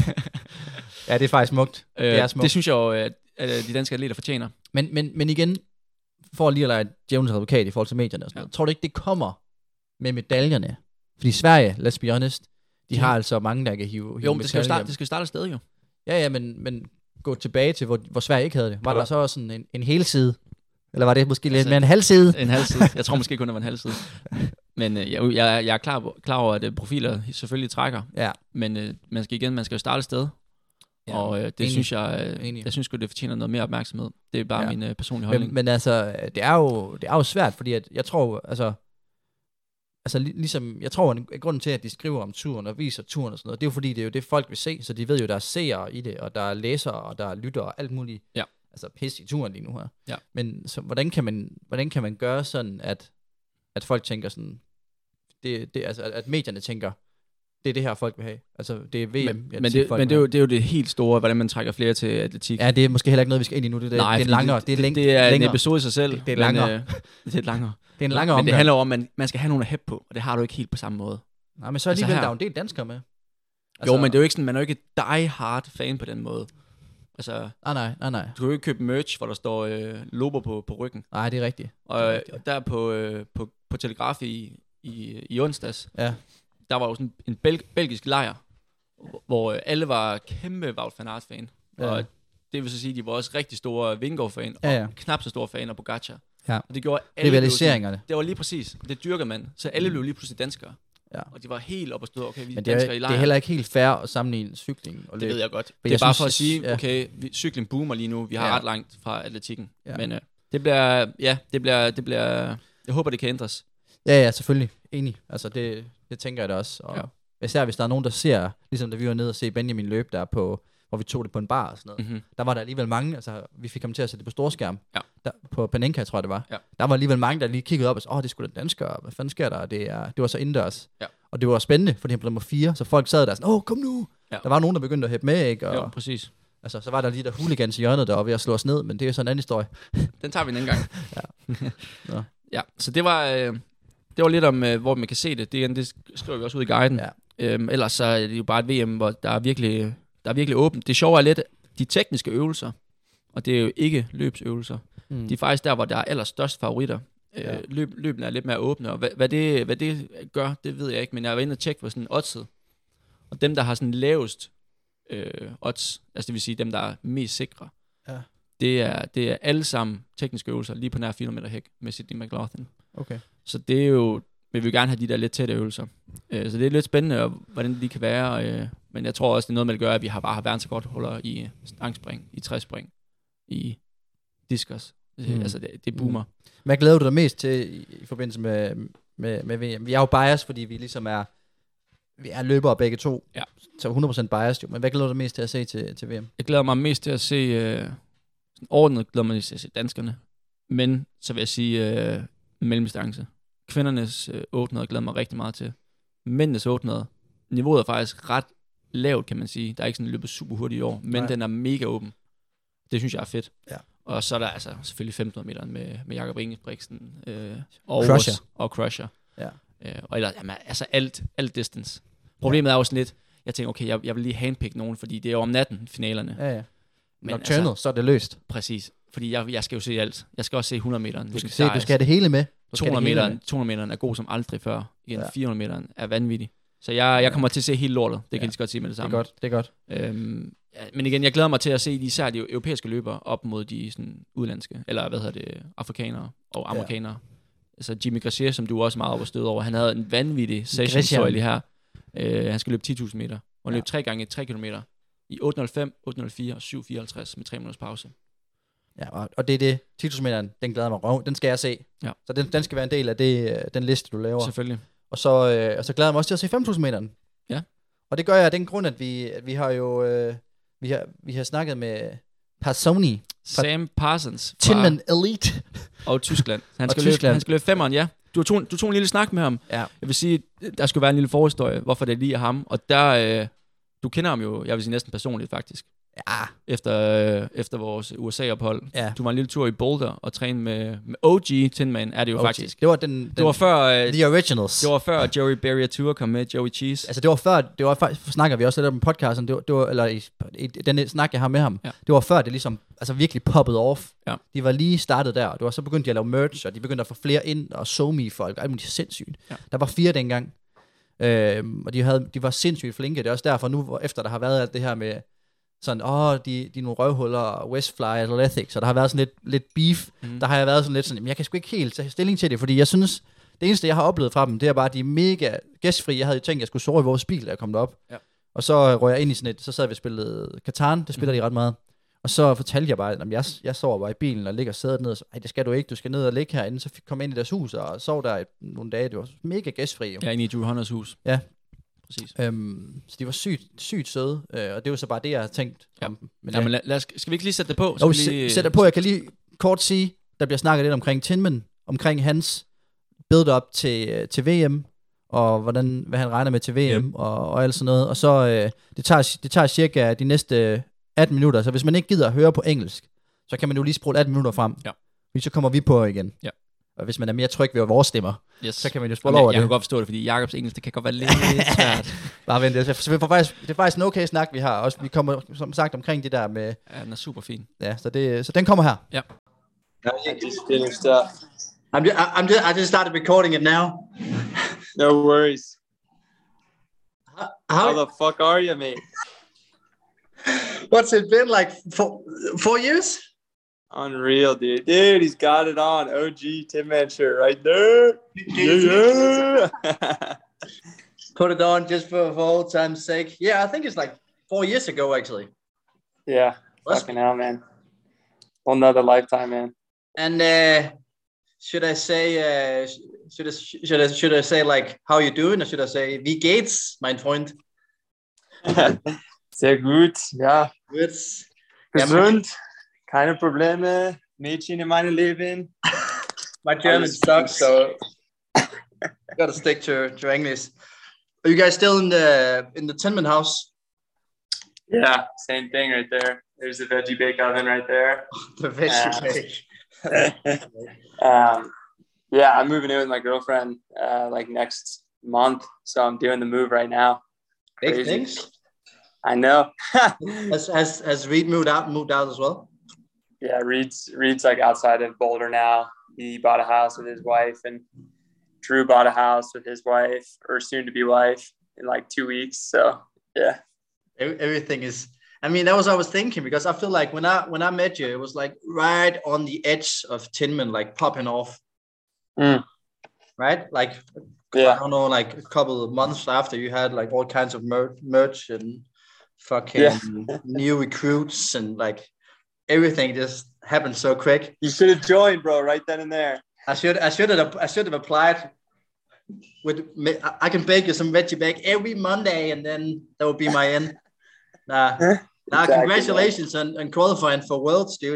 Ja, det er faktisk smukt. Det er smukt. Det synes jeg jo, at de danske atleter fortjener. Men igen, for lige at lege djævelens advokat i forhold til medierne og sådan noget, tror du ikke, det kommer med medaljerne? Fordi Sverige, let's be honest, de har altså mange, der kan hive jo, men det skal jo starte afsted jo. Ja, men gå tilbage til, hvor Sverige ikke havde det. Var der så sådan en hel side? Eller var det måske lidt mere en halv side? En halv side. Jeg tror måske kun, det var en halv side. Men jeg er klar over, at profiler selvfølgelig trækker. Ja. Men man skal jo starte et sted. Ja, og det synes jeg synes det fortjener noget mere opmærksomhed. Det er bare min personlige holdning. Men altså, det er jo svært, fordi at jeg tror, altså ligesom, jeg tror, at grunden til, at de skriver om turen og viser turen og sådan noget, det er jo fordi, det er jo det, folk vil se, så de ved jo, der er seere i det, og der er læsere, og der er lyttere, og alt muligt. Ja. Altså pis i turen lige nu her. Ja. Men så, hvordan kan man gøre sådan, at folk tænker sådan, altså, at medierne tænker, det er det her, folk vil have. Altså, det er VM. Men det er jo det helt store, hvordan man trækker flere til atletik. Ja, det er måske heller ikke noget, vi skal ind i nu. Det er en episode i sig selv. Det er langere. Det er langere. Det er en langere men det handler om, at man skal have nogen at hæppe på, og det har du ikke helt på samme måde. Nej, men så alligevel, der er jo en del danskere med. Altså, jo, men det er jo ikke sådan, man er jo ikke die hard fan på den måde. Altså, nej. Du kan jo ikke købe merch, hvor der står logo på ryggen. Nej, det er rigtigt. Og der på Telegraf i onsdags, der var jo sådan en belgisk lejr, hvor alle var kæmpe Wout van Aert-fan. Ja. Og det vil så sige, at de var også rigtig store Vingegaard-fan, og knap så store fan af Pogacar. Ja. Og det gjorde alle. Rivaliseringerne. Det var lige præcis. Det dyrker man. Så alle blev lige pludselig danskere. Ja. Og de var helt op og stå, okay, vi er danskere i lejren. Det er heller ikke helt fair at sammenligne cykling og løb. Det ved jeg godt. Det er bare for at sige, okay, cykling boomer lige nu. Vi har ret langt fra atletikken. Ja. Men det bliver, jeg håber, det kan ændres. Ja, selvfølgelig. Enig. Altså, det tænker jeg da også. Og især hvis der er nogen, der ser, ligesom da vi var nede og se Benjamin løb der på, hvor vi tog det på en bar og sådan noget. Der var der alligevel mange, altså vi fik ham til at sætte det på storskærm. Ja. Der, på Panenka, tror jeg det var. Ja. Der var alligevel mange, der lige kiggede op og sagde, det skulle da danskere, hvad fanden sker der? Det var så indendørs. Ja. Og det var spændende, fordi han blev nummer 4, så folk sad der sådan, kom nu! Ja. Der var nogen, der begyndte at hæppe med, ikke? Og, jo, præcis. Altså, så var der lige der hooligans i hjørnet, der var ved at slå os ned, men det er sådan en anden historie. Den tager vi en anden gang. Ja, så det var lidt om, hvor man kan se det. Det skriver vi også ud i guiden. Ja. Ellers så er det jo bare et VM, hvor der er virkelig åbent. Det sjove er lidt de tekniske øvelser, og det er jo ikke løbsøvelser. De er faktisk der, hvor der er allerstørst favoritter. Løbene er lidt mere åbne, og hvad det gør, det ved jeg ikke, men jeg var inde og tjekke på sådan oddset. Og dem, der har sådan lavest odds, altså det vil sige dem, der er mest sikre, det er alle sammen tekniske øvelser, lige på nær 400 meter hæk med Sydney McLaughlin. Okay. Så det er jo, vi vil gerne have de der lidt tætte øvelser. Så det er lidt spændende, hvordan de kan være. Men jeg tror også, det er noget med at gøre, at vi bare har verdensrekordholder i stangspring, i træspring, i diskus. Altså det boomer. Hvad glæder du dig mest til i forbindelse med VM? Vi er jo biased, fordi vi ligesom vi er løbere begge to. Ja. Så 100% biased jo. Men hvad glæder du dig mest til at se til VM? Jeg glæder mig mest til at se ordentligt, glæder mig til at se danskerne. Men så vil jeg sige mellemdistance. Kvindernes 800 glæder mig rigtig meget til. Mændenes 800 niveauet er faktisk ret lavt, kan man sige. Der er ikke sådan løbet super hurtigt i år, men den er mega åben. Det synes jeg er fedt. Ja. Og så er der altså selvfølgelig 1500 meter med Jakob Ingebrigtsen og Crusher. Ja. Og ellers, jamen, altså alt distance. Problemet er jo sådan lidt, jeg tænker, okay, jeg vil lige handpick nogen, fordi det er jo om natten, finalerne. Ja. Men Nocturnal, så er det løst. Præcis. Fordi jeg skal jo se alt. Jeg skal også se 100 meter. Du skal have det hele med. 200 meter er god som aldrig før. Igen, 400 meter er vanvittig. Så jeg kommer til at se hele lortet. Det kan jeg godt sige med det samme. Det er godt. Men igen, jeg glæder mig til at se især de europæiske løbere op mod de sådan udlandske, eller afrikanere og amerikanere. Altså Jimmy Gracier, som du også meget op og stød over, han havde en vanvittig session her. Han skal løbe 10.000 meter. Og han løb 3 gange 3 kilometer i 8.05, 8.04 og 7.54 med 3 minutters pause. Ja, og det er det. 10.000 meter, den glæder mig røv. Den skal jeg se. Ja. Så den skal være en del af den liste, du laver. Selvfølgelig. Og så glæder jeg mig også til at se 5.000 meter. Ja. Og det gør jeg af den grund, at vi har jo vi har snakket med Parsoni. Sam Parsons. Tinman Elite. Og Tyskland. Han skal løbe 5'eren, ja. Du tog en lille snak med ham. Ja. Jeg vil sige, der skulle være en lille forhistorie, hvorfor det lige er ham. Og der, du kender ham jo, jeg vil sige næsten personligt faktisk. Ja. Efter vores USA-ophold. Ja. Du var en lille tur i Boulder og træne med OG Tinman, er det jo OG. Faktisk. Det var før The Originals. Det var før Joey Barrier Tour kom med, Joey Cheese. Altså det var faktisk, snakker vi også lidt om podcasten, det var eller i den snak, jeg har med ham. Ja. Det var før det ligesom, altså virkelig poppet off. Ja. De var lige startet der, og det var så begyndt de at lave merch, og de begyndte at få flere ind, og SoMe-folk, og alt muligt sindssygt. Ja. Der var 4 dengang, og de var sindssygt flinke. Det er også derfor nu, efter der har været alt det her med sådan, de er nogle røvhuller, Westfly Athletics, og der har været sådan lidt beef. Der har jeg været sådan lidt sådan, jeg kan sgu ikke helt tage stilling til det, fordi jeg synes, det eneste, jeg har oplevet fra dem, det er bare, at de er mega gæstfri. Jeg havde jo tænkt, at jeg skulle sove i vores bil, da jeg kom derop. Ja. Og så røg jeg ind i sådan et, så sad vi og spillede Catan, det spiller de ret meget. Og så fortalte jeg bare, at jeg sover bare i bilen og ligger og sædet ned, og så, det skal du ikke, du skal ned og ligge herinde. Så kom jeg ind i deres hus og sov der nogle dage. Det var mega gæstfri. Ja, inde i Drew Hunters hus. Ja. Præcis. Så de var sygt søde, og det var så bare det, jeg havde tænkt om dem. Men skal vi ikke lige sætte det på? Sæt det på. Jeg kan lige kort sige, der bliver snakket lidt omkring Tinman, omkring hans build-up til VM, og hvad han regner med til VM, og alt sådan noget. Og så, det tager cirka de næste 18 minutter, så hvis man ikke gider at høre på engelsk, så kan man jo lige spole 18 minutter frem. Ja. Så kommer vi på igen. Ja. Og hvis man er mere tryg ved vores stemmer, så kan man jo spole over det. Jeg kan godt forstå det, fordi Jakobs engelsk, det kan godt være lidt svært. Bare vent, det er faktisk en okay snak, vi har. Også, vi kommer, som sagt, omkring det der med... Ja, den er super fin. Ja, så den kommer her. Ja. Just finished up. I just started recording it now. No worries. How the fuck are you, mate? What's it been like? 4 years? Unreal, dude. Dude, he's got it on. OG Tinman shirt right there. Yeah. Put it on just for old time's sake. Yeah, I think it's like 4 years ago, actually. Yeah, fucking hell, man. Whole nother lifetime, man. And should I say, should I say like how you doing, or should I say wie geht's, mein Freund? Sehr gut, ja. Gut. Gesund. Keine Probleme. Mädchen in meinem Leben. My German sucks, so gotta stick to English. Are you guys still in the Tinman house? Yeah, same thing right there. There's the veggie bake oven right there. The veggie bake. Yeah, I'm moving in with my girlfriend like next month, so I'm doing the move right now. Big things. I know. has Reed moved out as well? Yeah, Reed's like outside of Boulder now. He bought a house with his wife, and Drew bought a house with his wife, or soon to be wife, in like 2 weeks. So yeah, everything is. I mean, that was what I was thinking, because I feel like when I met you, it was like right on the edge of Tinman, like popping off. Right, like I don't know, like a couple of months after, you had like all kinds of merch and fucking new recruits, and like everything just happened so quick. You should have joined, bro, right then and there. I should have applied. I can bake you some veggie bake every Monday, and then that would be my end. Exactly, congratulations on qualifying for Worlds, dude.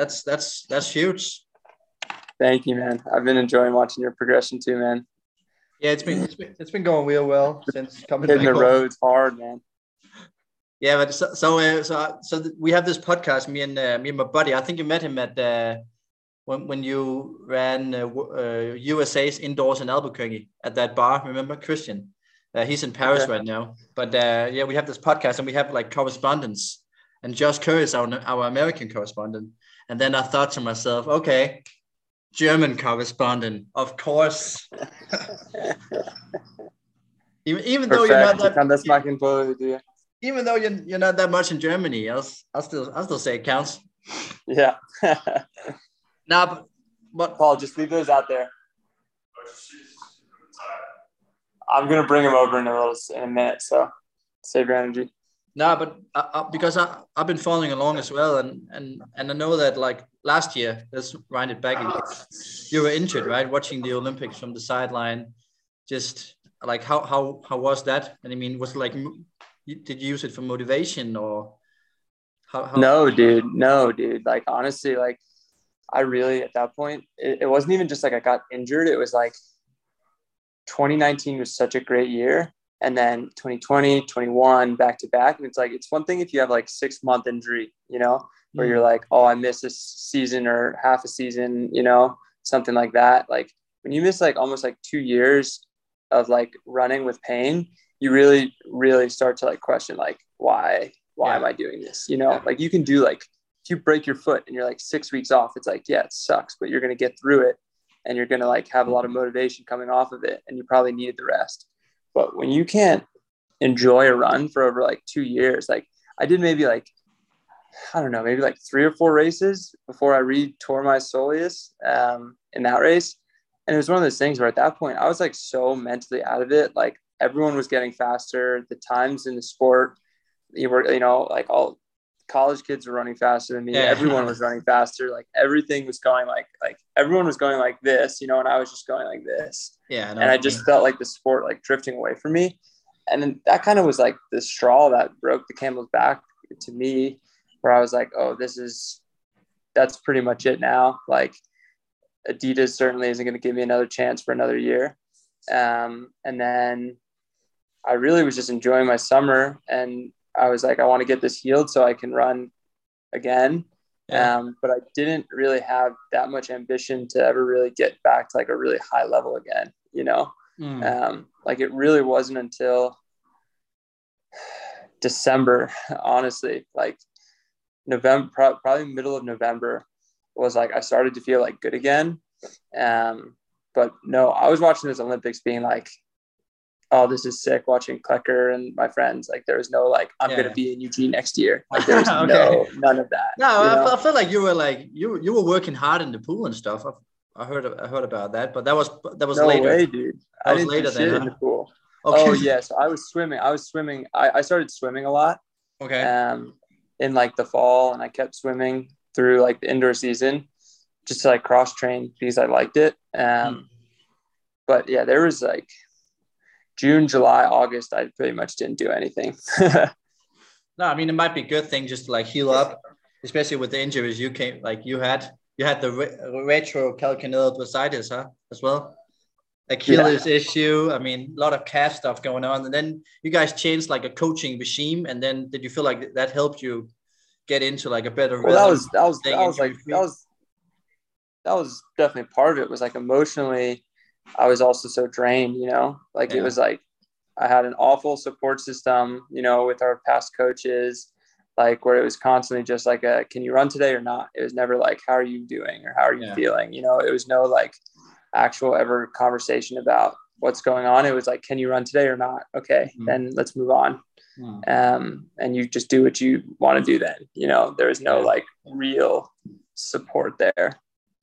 That's huge. Thank you, man. I've been enjoying watching your progression too, man. Yeah, it's been going real well since coming hitting back the home. roads hard, man. Yeah, but so we have this podcast. Me and my buddy. I think you met him at when you ran USA's indoors in Albuquerque at that bar. Remember Christian? He's in Paris right now. But yeah, we have this podcast and we have like correspondence. And Josh Kerr is our American correspondent. And then I thought to myself, okay, German correspondent, of course. even though you're not that. Even though you're not that much in Germany, I'll still say it counts. Yeah. Nah, but Paul, just leave those out there. I'm gonna bring him over in a minute, so save your energy. No, but because I've been following along as well, and I know that like last year, let's wind it back. You were injured, right? Watching the Olympics from the sideline, just like how was that? And I mean, was it like, did you use it for motivation or how? No, dude. Like honestly, like I really at that point, it wasn't even just like I got injured. It was like 2019 was such a great year. And then 2020, 21, back to back. And it's like, it's one thing if you have like 6-month injury, you know, where you're like, oh, I missed this season or half a season, you know, something like that. Like when you miss like almost like 2 years of like running with pain, you really, really start to like question, like, why am I doing this? You know, like you can do like, if you break your foot and you're like 6 weeks off, it's like, yeah, it sucks, but you're going to get through it. And you're going to like have a lot of motivation coming off of it. And you probably needed the rest. But when you can't enjoy a run for over like 2 years, like I did maybe like, I don't know, maybe like 3 or 4 races before I re-tore my soleus in that race. And it was one of those things where at that point I was like so mentally out of it. Like everyone was getting faster. The times in the sport, you know, like all college kids were running faster than me. Yeah. Everyone was running faster. Like everything was going like everyone was going like this, you know, and I was just going like this. Yeah. And I just felt like the sport like drifting away from me. And then that kind of was like the straw that broke the camel's back to me, where I was like, oh, that's pretty much it now. Like Adidas certainly isn't going to give me another chance for another year. And then I really was just enjoying my summer, and I was like, I want to get this healed so I can run again. But I didn't really have that much ambition to ever really get back to like a really high level again, you know? Like it really wasn't until December, honestly, like November, probably middle of November was like, I started to feel like good again. But no, I was watching this Olympics being like, oh, this is sick, watching Klecker and my friends. Like there was no like, I'm going to be in Eugene next year. Like there was none of that. No, I felt like you were like, you were working hard in the pool and stuff. I heard about that, but that was no later. Way, dude. I didn't later than in the pool. Okay. Oh yes, I was swimming. I started swimming a lot. Okay. In like the fall, and I kept swimming through like the indoor season, just to like cross train because I liked it. But yeah, there was like June, July, August, I pretty much didn't do anything. No, I mean, it might be a good thing just to like heal up, especially with the injuries you had the retrocalcaneal bursitis, as well. Achilles issue. I mean, a lot of calf stuff going on. And then you guys changed like a coaching regime. And then did you feel like that helped you get into like a better rhythm? Well, that was definitely part of it. Was like emotionally, I was also so drained, you know, like it was like I had an awful support system, you know, with our past coaches, like where it was constantly just like can you run today or not? It was never like, how are you doing or how are you feeling? You know, it was no like actual ever conversation about what's going on. It was like, can you run today or not? Okay, then let's move on. And you just do what you want to do then, you know, there was no like real support there.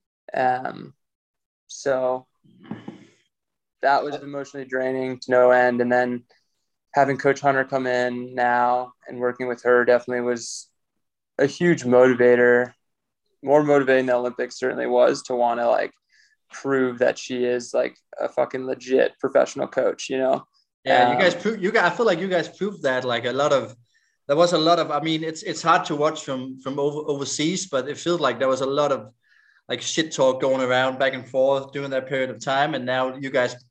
So that was emotionally draining to no end. And then having Coach Hunter come in now and working with her definitely was a huge motivator, more motivating than the Olympics certainly was, to want to like prove that she is like a fucking legit professional coach, you know? Yeah, I feel like you guys proved that. Like there was a lot of, I mean, it's hard to watch from overseas, but it feels like there was a lot of like shit talk going around back and forth during that period of time. And now you guys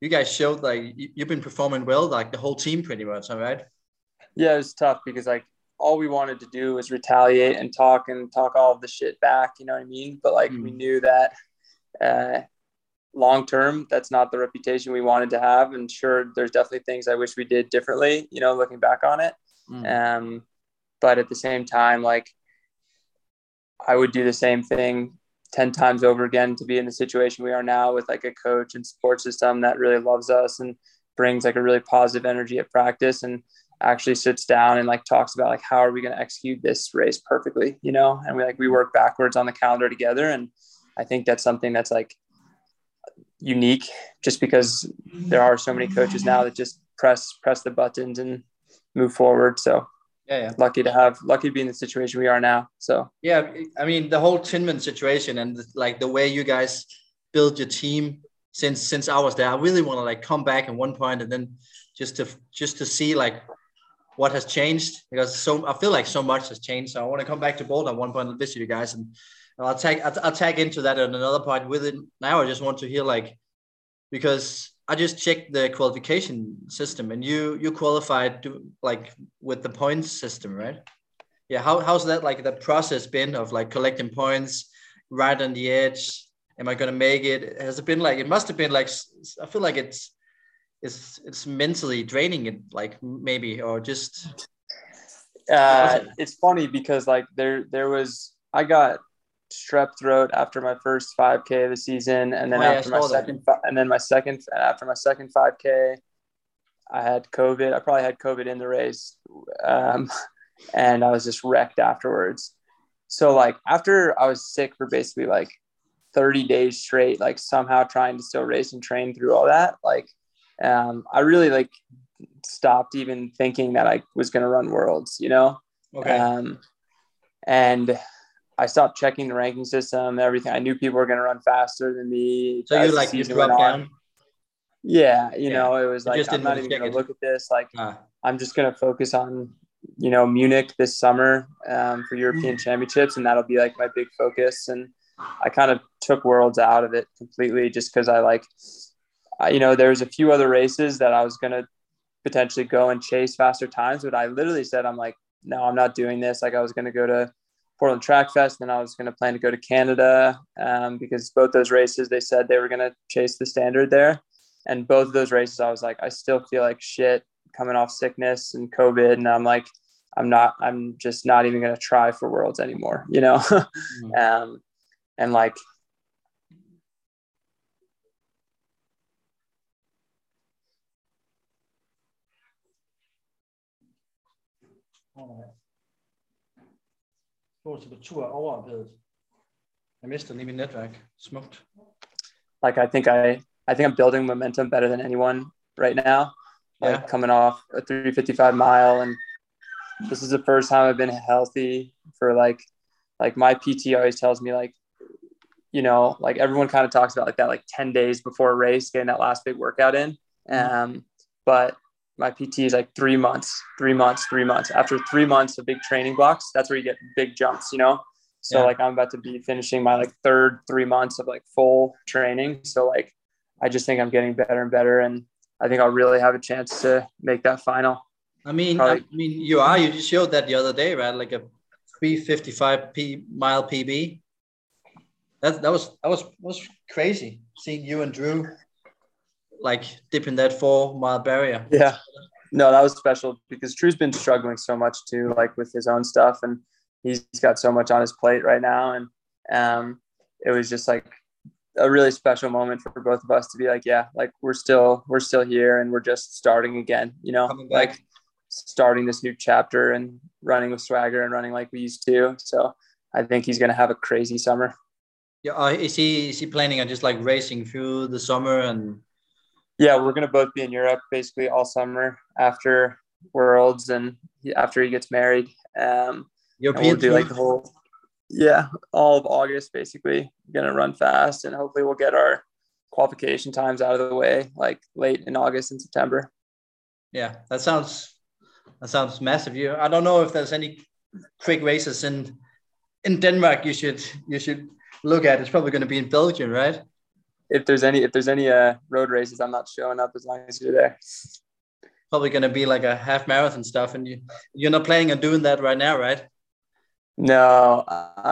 you guys showed like you've been performing well, like the whole team pretty much, all right? Yeah, it was tough because like all we wanted to do was retaliate and talk all of the shit back, you know what I mean? But like we knew that long term, that's not the reputation we wanted to have. And sure, there's definitely things I wish we did differently, you know, looking back on it. But at the same time, like I would do the same thing 10 times over again to be in the situation we are now with like a coach and support system that really loves us and brings like a really positive energy at practice and actually sits down and like talks about like, how are we going to execute this race perfectly, you know? And we work backwards on the calendar together. And I think that's something that's like unique just because there are so many coaches now that just press the buttons and move forward. So lucky to be in the situation we are now. So yeah, I mean the whole Tinman situation and like the way you guys build your team since I was there, I really want to like come back at one point and then just to see like what has changed, because I feel like so much has changed. So I want to come back to Boulder at one point and visit you guys, and I'll tag into that at another point with it. Now I just want to hear like, because I just checked the qualification system and you qualified like with the points system, right? Yeah. How's that, like the process been of like collecting points right on the edge? Am I going to make it? Has it been like, it must've been like, I feel like it's mentally draining it, like maybe, or just. It's funny because like I got strep throat after my first 5K of the season, and then after my second 5K, I had COVID. I probably had COVID in the race, and I was just wrecked afterwards. So like after I was sick for basically like 30 days straight, like somehow trying to still race and train through all that, like I really like stopped even thinking that I was going to run worlds, you know? Okay. And I stopped checking the ranking system, everything. I knew people were going to run faster than me. So you dropped down? Yeah. You know, it was like, I'm not even going to look at this. Like, I'm just going to focus on, you know, Munich this summer for European Championships. And that'll be like my big focus. And I kind of took worlds out of it completely just because you know, there's a few other races that I was going to potentially go and chase faster times, but I literally said, I'm like, no, I'm not doing this. Like I was going to go to Portland Track Fest, then I was going to plan to go to Canada because both those races, they said they were going to chase the standard there. And both of those races, I was like, I still feel like shit coming off sickness and COVID. And I'm like, I'm just not even going to try for worlds anymore, you know? And like, på tur overophedet. Jeg mister lige min netværk. Smukt. Like I think I'm building momentum better than anyone right now. Like coming off a 355 mile, and this is the first time I've been healthy for like my PT always tells me like, you know, like everyone kind of talks about like that, like 10 days before a race, getting that last big workout in. But my PT is like 3 months. After 3 months of big training blocks, that's where you get big jumps, you know? So like I'm about to be finishing my like third 3 months of like full training. So like, I just think I'm getting better and better. And I think I'll really have a chance to make that final. I mean, you just showed that the other day, right? Like a 355 mile PB. That was crazy seeing you and Drew like dipping that 4 mile barrier. Yeah, no, that was special because Drew's been struggling so much too, like with his own stuff, and he's got so much on his plate right now. And it was just like a really special moment for both of us to be like, yeah, like we're still here and we're just starting again, you know, like starting this new chapter and running with swagger and running like we used to. So I think he's going to have a crazy summer. Yeah. Is he planning on just like racing through the summer? And yeah, we're going to both be in Europe basically all summer after Worlds and after he gets married. European we'll do like the whole, all of August basically. Going to run fast, and hopefully we'll get our qualification times out of the way like late in August and September. Yeah, that sounds massive. I don't know if there's any quick races in Denmark you should look at. It's probably going to be in Belgium, right? if there's any road races, I'm not showing up as long as you're there. Probably gonna be like a half marathon stuff, and you're not planning on doing that right now, right? No,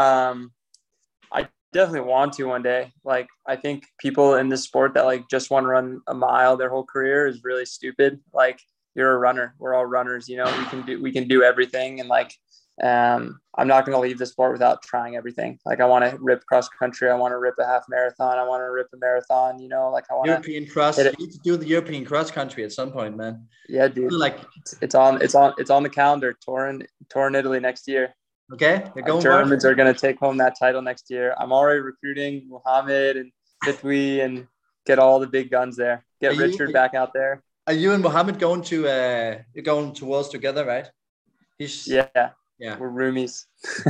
I definitely want to one day. Like, I think people in this sport that like just want to run a mile their whole career is really stupid. Like, you're a runner. We're all runners, you know. We can do everything, and like, I'm not going to leave the sport without trying everything. Like, I want to rip cross country. I want to rip a half marathon. I want to rip a marathon, you know, like I want European cross. You need to do the European cross country at some point, man. Yeah, dude. Like, it's on the calendar. Turin, Italy next year. Okay. Germans are going to take home that title next year. I'm already recruiting Mohammed and Fitwi and get all the big guns there. Get Richard back out there. Are you and Mohammed going to you're going to Worlds together, right? Yeah, we're roomies.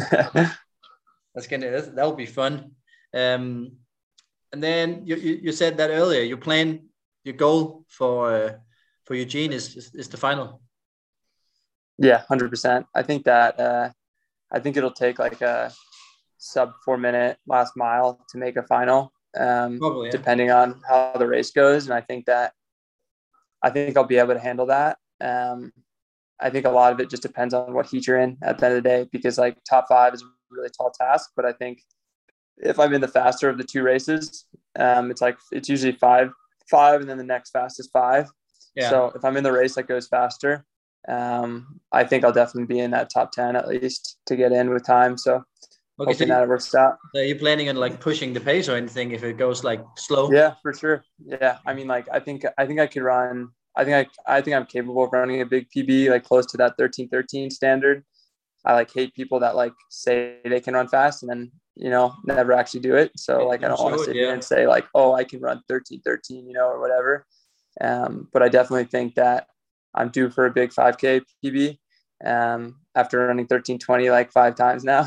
That'll be fun. And then you said that earlier. Your goal for Eugene is the final. Yeah, 100%. I think that I think it'll take like a sub 4 minute last mile to make a final. Probably, yeah. Depending on how the race goes, and I think I'll be able to handle that. I think a lot of it just depends on what heat you're in at the end of the day, because like top 5 is a really tall task. But I think if I'm in the faster of the 2 races, it's usually 5, and then the next fastest 5. Yeah. So if I'm in the race that goes faster, I think I'll definitely be in that top 10 at least to get in with time. So hoping that it works out. Are you planning on like pushing the pace or anything if it goes like slow? Yeah, for sure. Yeah, I mean, like I think I could run. I think I'm capable of running a big PB, like close to that 13:13 standard. I like hate people that like say they can run fast and then, you know, never actually do it. So like I don't want to sit here and say like, oh, I can run 13:13, you know, or whatever. But I definitely think that I'm due for a big 5K PB after running 13:20 like 5 times now.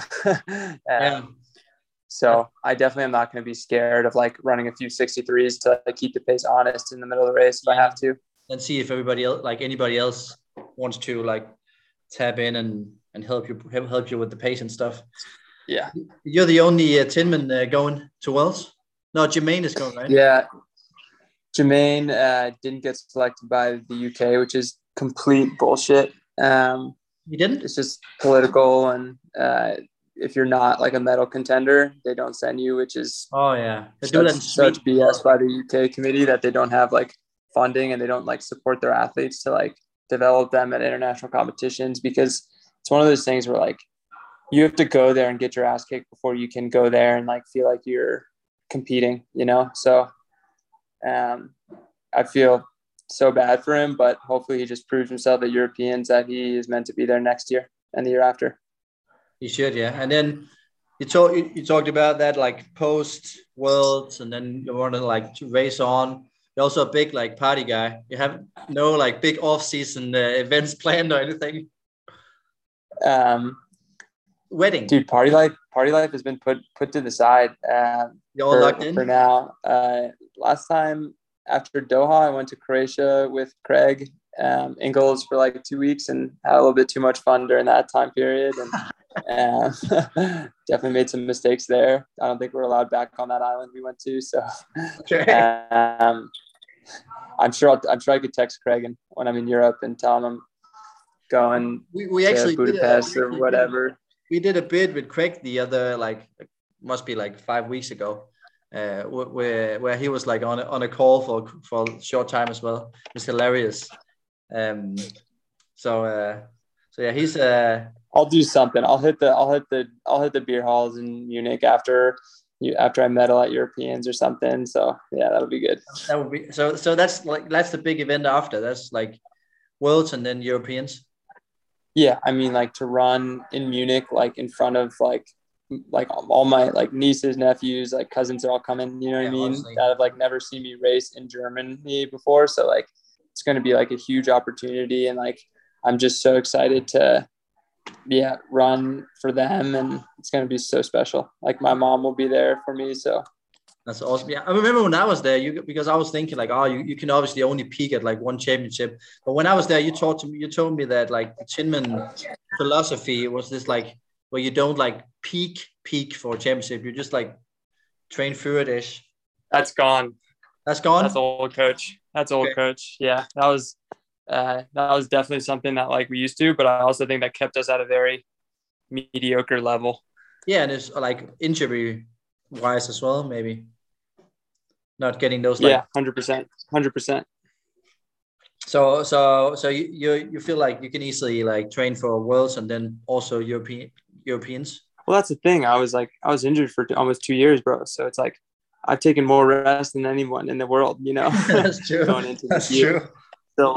So I definitely am not going to be scared of like running a few 63s to like, keep the pace honest in the middle of the race if I have to. And see if anybody else wants to like tap in and help you with the pace and stuff. Yeah. You're the only Tinman going to Wells? No, Jermaine is going, right? Yeah. Jermaine didn't get selected by the UK, which is complete bullshit. He didn't? It's just political, and if you're not like a medal contender, they don't send you, which is such BS by the UK committee that they don't have like funding and they don't like support their athletes to like develop them at international competitions, because it's one of those things where like you have to go there and get your ass kicked before you can go there and like feel like you're competing, you know? So I feel so bad for him, but hopefully he just proves himself at Europeans that he is meant to be there next year and the year after. He should, yeah. And then you talked about that like post Worlds, and then you want to like to race on. You're also a big like party guy. You have no like big off-season events planned or anything? Wedding, dude. Party life has been put to the side. You're all locked in for now. Last time after Doha, I went to Croatia with Craig Ingles for like 2 weeks and had a little bit too much fun during that time period, and definitely made some mistakes there. I don't think we're allowed back on that island we went to. So I'm sure I could text Craig when I'm in Europe and tell him I'm going we actually to Budapest or whatever. We did a bid with Craig the other must be like 5 weeks ago, where he was like on a call for a short time as well. It was hilarious. So yeah, he's I'll do something. I'll hit the beer halls in Munich after I medal at Europeans or something. So yeah, that'll be good. That would be so that's the big event after. That's like Worlds and then Europeans. Yeah, I mean, like to run in Munich, like in front of like all my like nieces, nephews, like cousins are all coming. You know what I mean? Honestly. That have like never seen me race in Germany before. So like it's going to be like a huge opportunity, and like I'm just so excited to run for them, and it's going to be so special. Like my mom will be there for me, so that's awesome. Yeah, I remember when I was there, because I was thinking like, oh, you can obviously only peak at like one championship. But when I was there, you told me that like the Tinman philosophy was this like where you don't like peak for a championship. You just like train through it ish. That's gone. That's gone. That's old coach. That's old coach. Yeah, that was definitely something that like we used to, but I also think that kept us at a very mediocre level. Yeah, and it's like injury wise as well, maybe not getting those. Like, 100%. So you feel like you can easily like train for Worlds and then also Europeans. Well, that's the thing. I was injured for almost 2 years, bro. So it's like I've taken more rest than anyone in the world, you know. That's true. Going into That's this year. true. So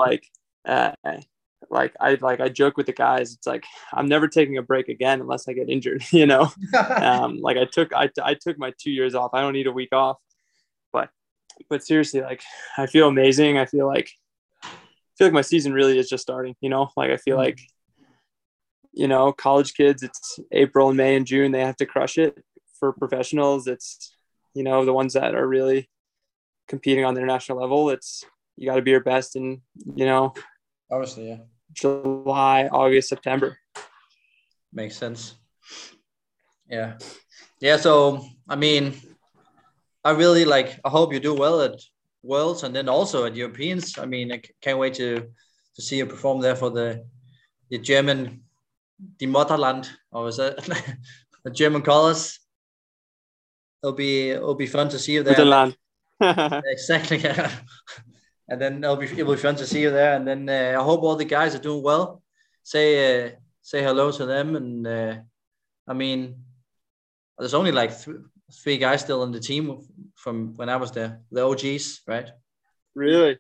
I joke with the guys. It's like I'm never taking a break again unless I get injured, you know. Like I took my 2 years off. I don't need a week off. But seriously, like I feel amazing. I feel like my season really is just starting, you know. Like I feel like, you know, college kids, it's April and May and June, they have to crush it. For professionals, it's, you know, the ones that are really competing on the international level, it's you got to be your best in, you know, obviously, yeah, July, August, September. Makes sense. Yeah. So I mean, I hope you do well at Worlds and then also at Europeans. I mean, I can't wait to see you perform there for the German, the Mutterland, or is that the German colors? It'll be fun to see you there. Mutterland. Exactly. Yeah. And then it'll be fun to see you there. And then I hope all the guys are doing well. Say hello to them. And I mean, there's only like three guys still on the team from when I was there, the OGs, right? Really?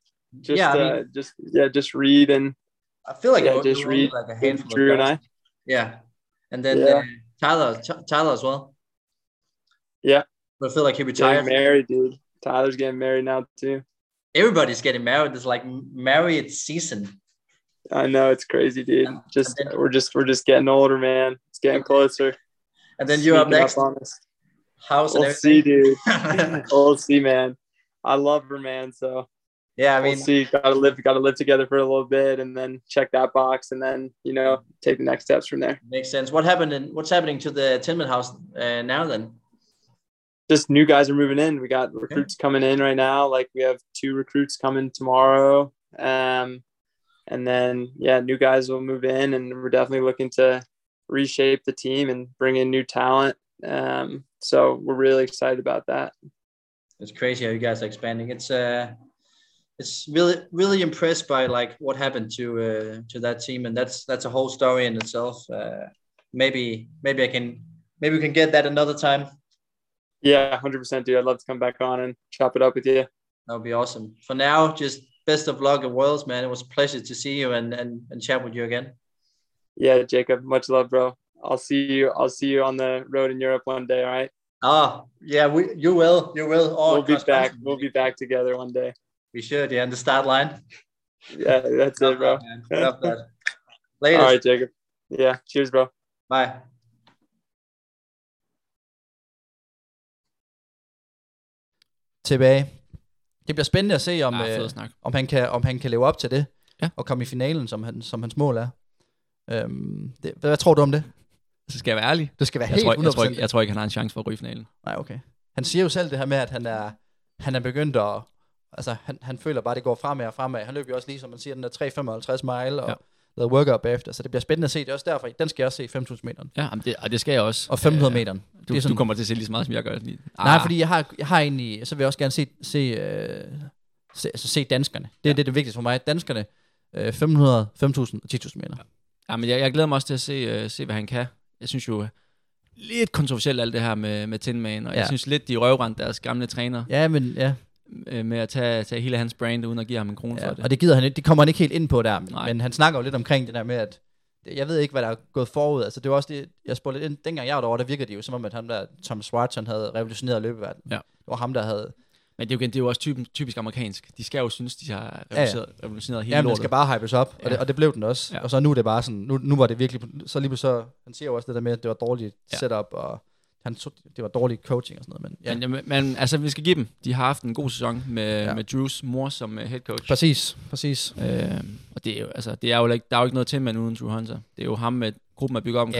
Just Reed and I feel like just Reed, like a handful Drew of guys. and I. Yeah, and then Tyler as well. Yeah, but I feel like he retired. Getting married, dude. Tyler's getting married now too. Everybody's getting married. It's like married season. I know, it's crazy, dude. We're just getting older, man. It's getting closer. And then you're up next. House and everything. See, dude. We'll see, man. I love her, man. So yeah, I mean, we'll see. Gotta live together for a little bit, and then check that box, and then take the next steps from there. Makes sense. What's happening to the Tinman house now? Then just new guys are moving in. We got recruits coming in right now. Like we have 2 recruits coming tomorrow, and then new guys will move in, and we're definitely looking to reshape the team and bring in new talent. So we're really excited about that. It's crazy how you guys are expanding. It's really impressed by like what happened to that team, and that's a whole story in itself. Maybe we can get that another time. Yeah, 100%, dude. I'd love to come back on and chop it up with you. That would be awesome. For now, just best of luck at Worlds, man. It was a pleasure to see you and chat with you again. Yeah, Jacob, much love, bro. I'll see you on the road in Europe one day, all right? Oh, yeah, you will. We'll be back. We'll be back together one day. We should, yeah, in the start line. Yeah, that's it, bro. Love that. Later. All right, Jacob. Yeah, cheers, bro. Bye. Tilbage. Det bliver spændende at se, om han kan leve op til det, og komme i finalen, som hans mål er. Hvad tror du om det? Så skal jeg være ærlig. Du skal være helt 100%. Jeg tror ikke, han har en chance for at ryge i finalen. Nej, okay. Han siger jo selv det her med, at han er begyndt at... Altså, han føler bare, at det går fremad og fremad. Han løber jo også lige, som man siger, den der 3,55 mile og lavede workout bagefter. Så det bliver spændende at se. Det er også derfor, den skal jeg også se 5.000 meteren. Ja, og det skal jeg også. Og 500 meteren. Du kommer til at se lige så meget, som jeg gør. Nej, fordi jeg har egentlig... Så vil jeg også gerne se danskerne. Det er det vigtigste for mig. Danskerne 500, 5.000 og 10.000 meter. Ja, men jeg glæder mig også til at se hvad han kan. Jeg synes jo lidt kontroversielt alt det her med Tinman, og jeg synes lidt, de røvrendte deres gamle træner. Ja, men ja. Med at tage hele hans brand, uden at give ham en krone for det. Og det gider han ikke. Det kommer han ikke helt ind på der. Men han snakker jo lidt omkring det der med, at jeg ved ikke, hvad der er gået forud. Altså, det var også det, jeg spurgte lidt ind. Dengang jeg var derovre, der virkede det jo som om, at han der, Tom Swartz, han havde revolutioneret løbeverdenen. Ja. Det var ham, der havde... Men det er jo også typisk amerikansk. De skal jo synes, de har revolutioneret hele lortet. Ja, den skal bare hypes op, og det blev den også. Ja. Og så nu er det bare sådan, nu var det virkelig, så lige så han siger jo også det der med, at det var dårligt setup, og det var dårlig coaching og sådan noget. Men altså, vi skal give dem. De har haft en god sæson med Drews mor som head coach. Præcis. Og det er jo, altså, der er jo ikke noget til med uden Drew Hunter. Det er jo ham med gruppen at bygge op omkring. Ja,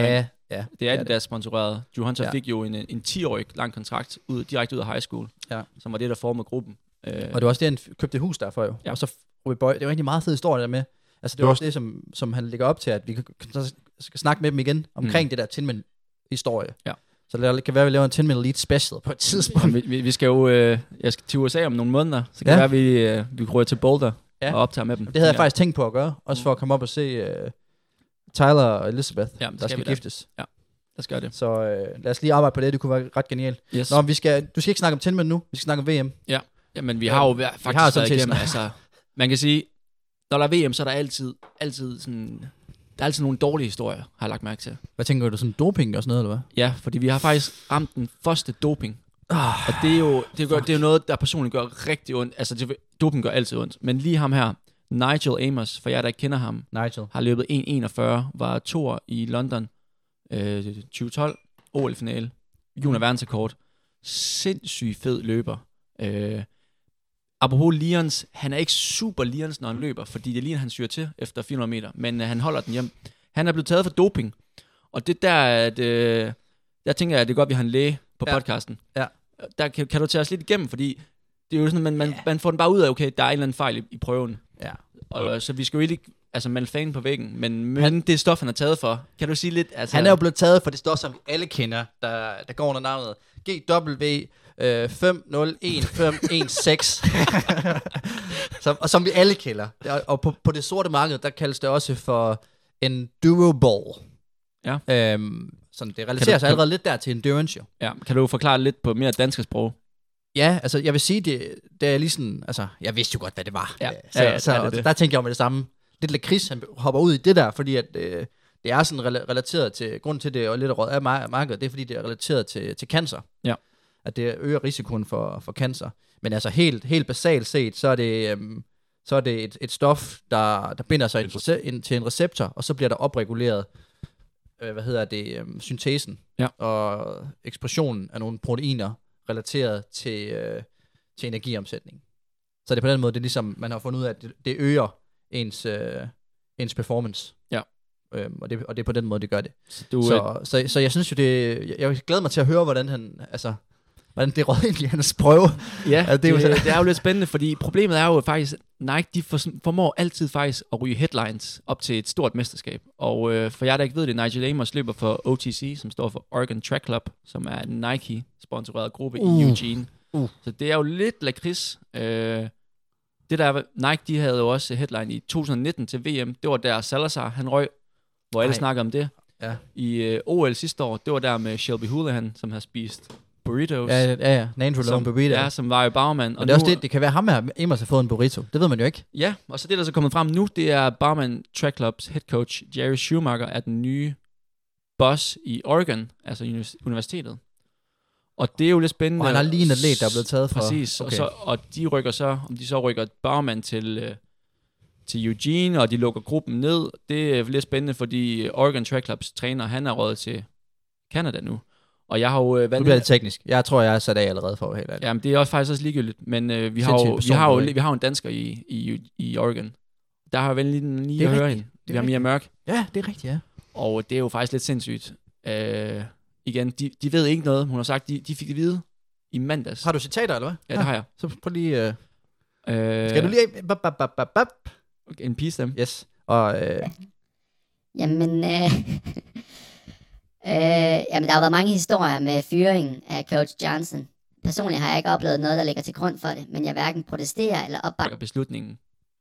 Ja, det er Adidas sponsoreret. Drew Hunter fik jo en 10-årig lang kontrakt direkte ud af high school, som var det, der formede gruppen. Og det var også det, han købte et hus derfor jo. Ja. Og så Robbie Boy, det var egentlig meget fed historie der med. Altså det var også det, som han lægger op til, at vi skal snakke med dem igen omkring det der Tin Man historie. Ja. Så det kan være, at vi laver en 10 Man Elite special på et tidspunkt. Vi skal jo jeg skal til USA om nogle måneder, så kan det være, at vi ryger til Boulder og optager med dem. Det havde jeg faktisk tænkt på at gøre, også for at komme op og se Tyler og Elizabeth, der skal giftes. Ja, der skal det. Så lad os lige arbejde på det, det kunne være ret genialt. Yes. Nå, du skal ikke snakke om 10 Man nu, vi skal snakke om VM. Ja, men vi har jo faktisk været igennem, altså, man kan sige, når der er VM, så er der altid sådan... Der er altid nogle dårlige historier, har jeg lagt mærke til. Hvad tænker du, sådan doping og sådan noget, eller hvad? Ja, fordi vi har faktisk ramt den første doping. Og det er jo noget, der personligt gør rigtig ondt. Altså, doping gør altid ondt. Men lige ham her, Nigel Amos, for jer, der ikke kender ham, har løbet 1.41, var 2'er i London 2012, OL-finale, junior verdensrekord. Sindssygt fed løber. Apropos Lions, han er ikke super Lions, når han løber, fordi det er lige, han syrer til efter 400 meter, men han holder den hjem. Han er blevet taget for doping, og det der, at, der tænker jeg, at det er godt, at vi har en læge på podcasten. Ja. Der kan du tage os lidt igennem, fordi det er jo sådan, man får den bare ud af, okay, der er en eller anden fejl i prøven. Ja. Og så vi skal jo ikke melde fanen på væggen, men det stof, han er taget for, kan du sige lidt? Altså, han er jo blevet taget for det stof, som vi alle kender, der går under navnet GW 5011516. Som vi alle kender. Og på det sorte marked, der kaldes det også for endurable. Ja. Sådan det relaterer sig allerede lidt der til endurance jo. Ja, kan du forklare lidt på mere dansk sprog? Ja, altså jeg vil sige, det er lige sådan, altså jeg vidste jo godt, hvad det var. Ja. Så der tænkte jeg med det samme. Lidt lakrids, han hopper ud i det der, fordi at det er sådan relateret til, grunden til det og lidt råd af markedet, det er fordi det er relateret til cancer. Ja. At det øger risikoen for cancer. Men altså helt basalt set, så er det et stof, der binder sig til en receptor, og så bliver der opreguleret, syntesen og ekspressionen af nogle proteiner relateret til energiomsætning. Så det er på den måde, det er ligesom, man har fundet ud af, at det øger ens performance. Ja. Og det er på den måde, det gør det. Så jeg synes jo, jeg glæder mig til at høre, hvordan det råd egentlig hans prøve. Ja, det er jo lidt spændende, fordi problemet er jo faktisk, Nike, de formår altid faktisk at ryge headlines op til et stort mesterskab. Og for jer, der ikke ved det, Nigel Amos løber for OTC, som står for Oregon Track Club, som er en Nike-sponsoreret gruppe i Eugene. Så det er jo lidt lakrids. Det der, Nike, de havde jo også headline i 2019 til VM. Det var der Salazar, han røg, hvor alle snakker om det. Ja. I OL sidste år, det var der med Shelby Houlihan, som har spist burritos. Ja. Nandrolone burrito. Ja, som var jo bagmand. Og det er også det kan være ham her, Amos har fået en burrito. Det ved man jo ikke. Ja, og så det, der så kommet frem nu, det er Barman Track Clubs head coach, Jerry Schumacher, er den nye boss i Oregon, altså universitetet. Og det er jo lidt spændende. Og han har lige en atlet, der er blevet taget fra. Præcis, okay. og de rykker Barman til Eugene, og de lukker gruppen ned. Det er lidt spændende, fordi Oregon Track Clubs træner, han er røget til Canada nu. Og jeg har jo nu bliver det teknisk. Jeg tror, jeg er sat af allerede for helt. Jamen, det er også faktisk også ligegyldigt. Men vi har jo en dansker i Oregon. Der har jeg vel lige at høre hende. Vi har Mia Mørk. Ja, det er rigtigt, ja. Og det er jo faktisk lidt sindssygt. Igen, de ved ikke noget. Hun har sagt, de fik det vide i mandags. Har du citater, eller hvad? Ja, det har jeg. Så prøv lige... Skal du lige... Okay, en piece dem. Yes. Og... Jamen, der har været mange historier med fyringen af Coach Johnson. Personligt har jeg ikke oplevet noget, der ligger til grund for det, men jeg hverken protesterer eller opbakker beslutningen.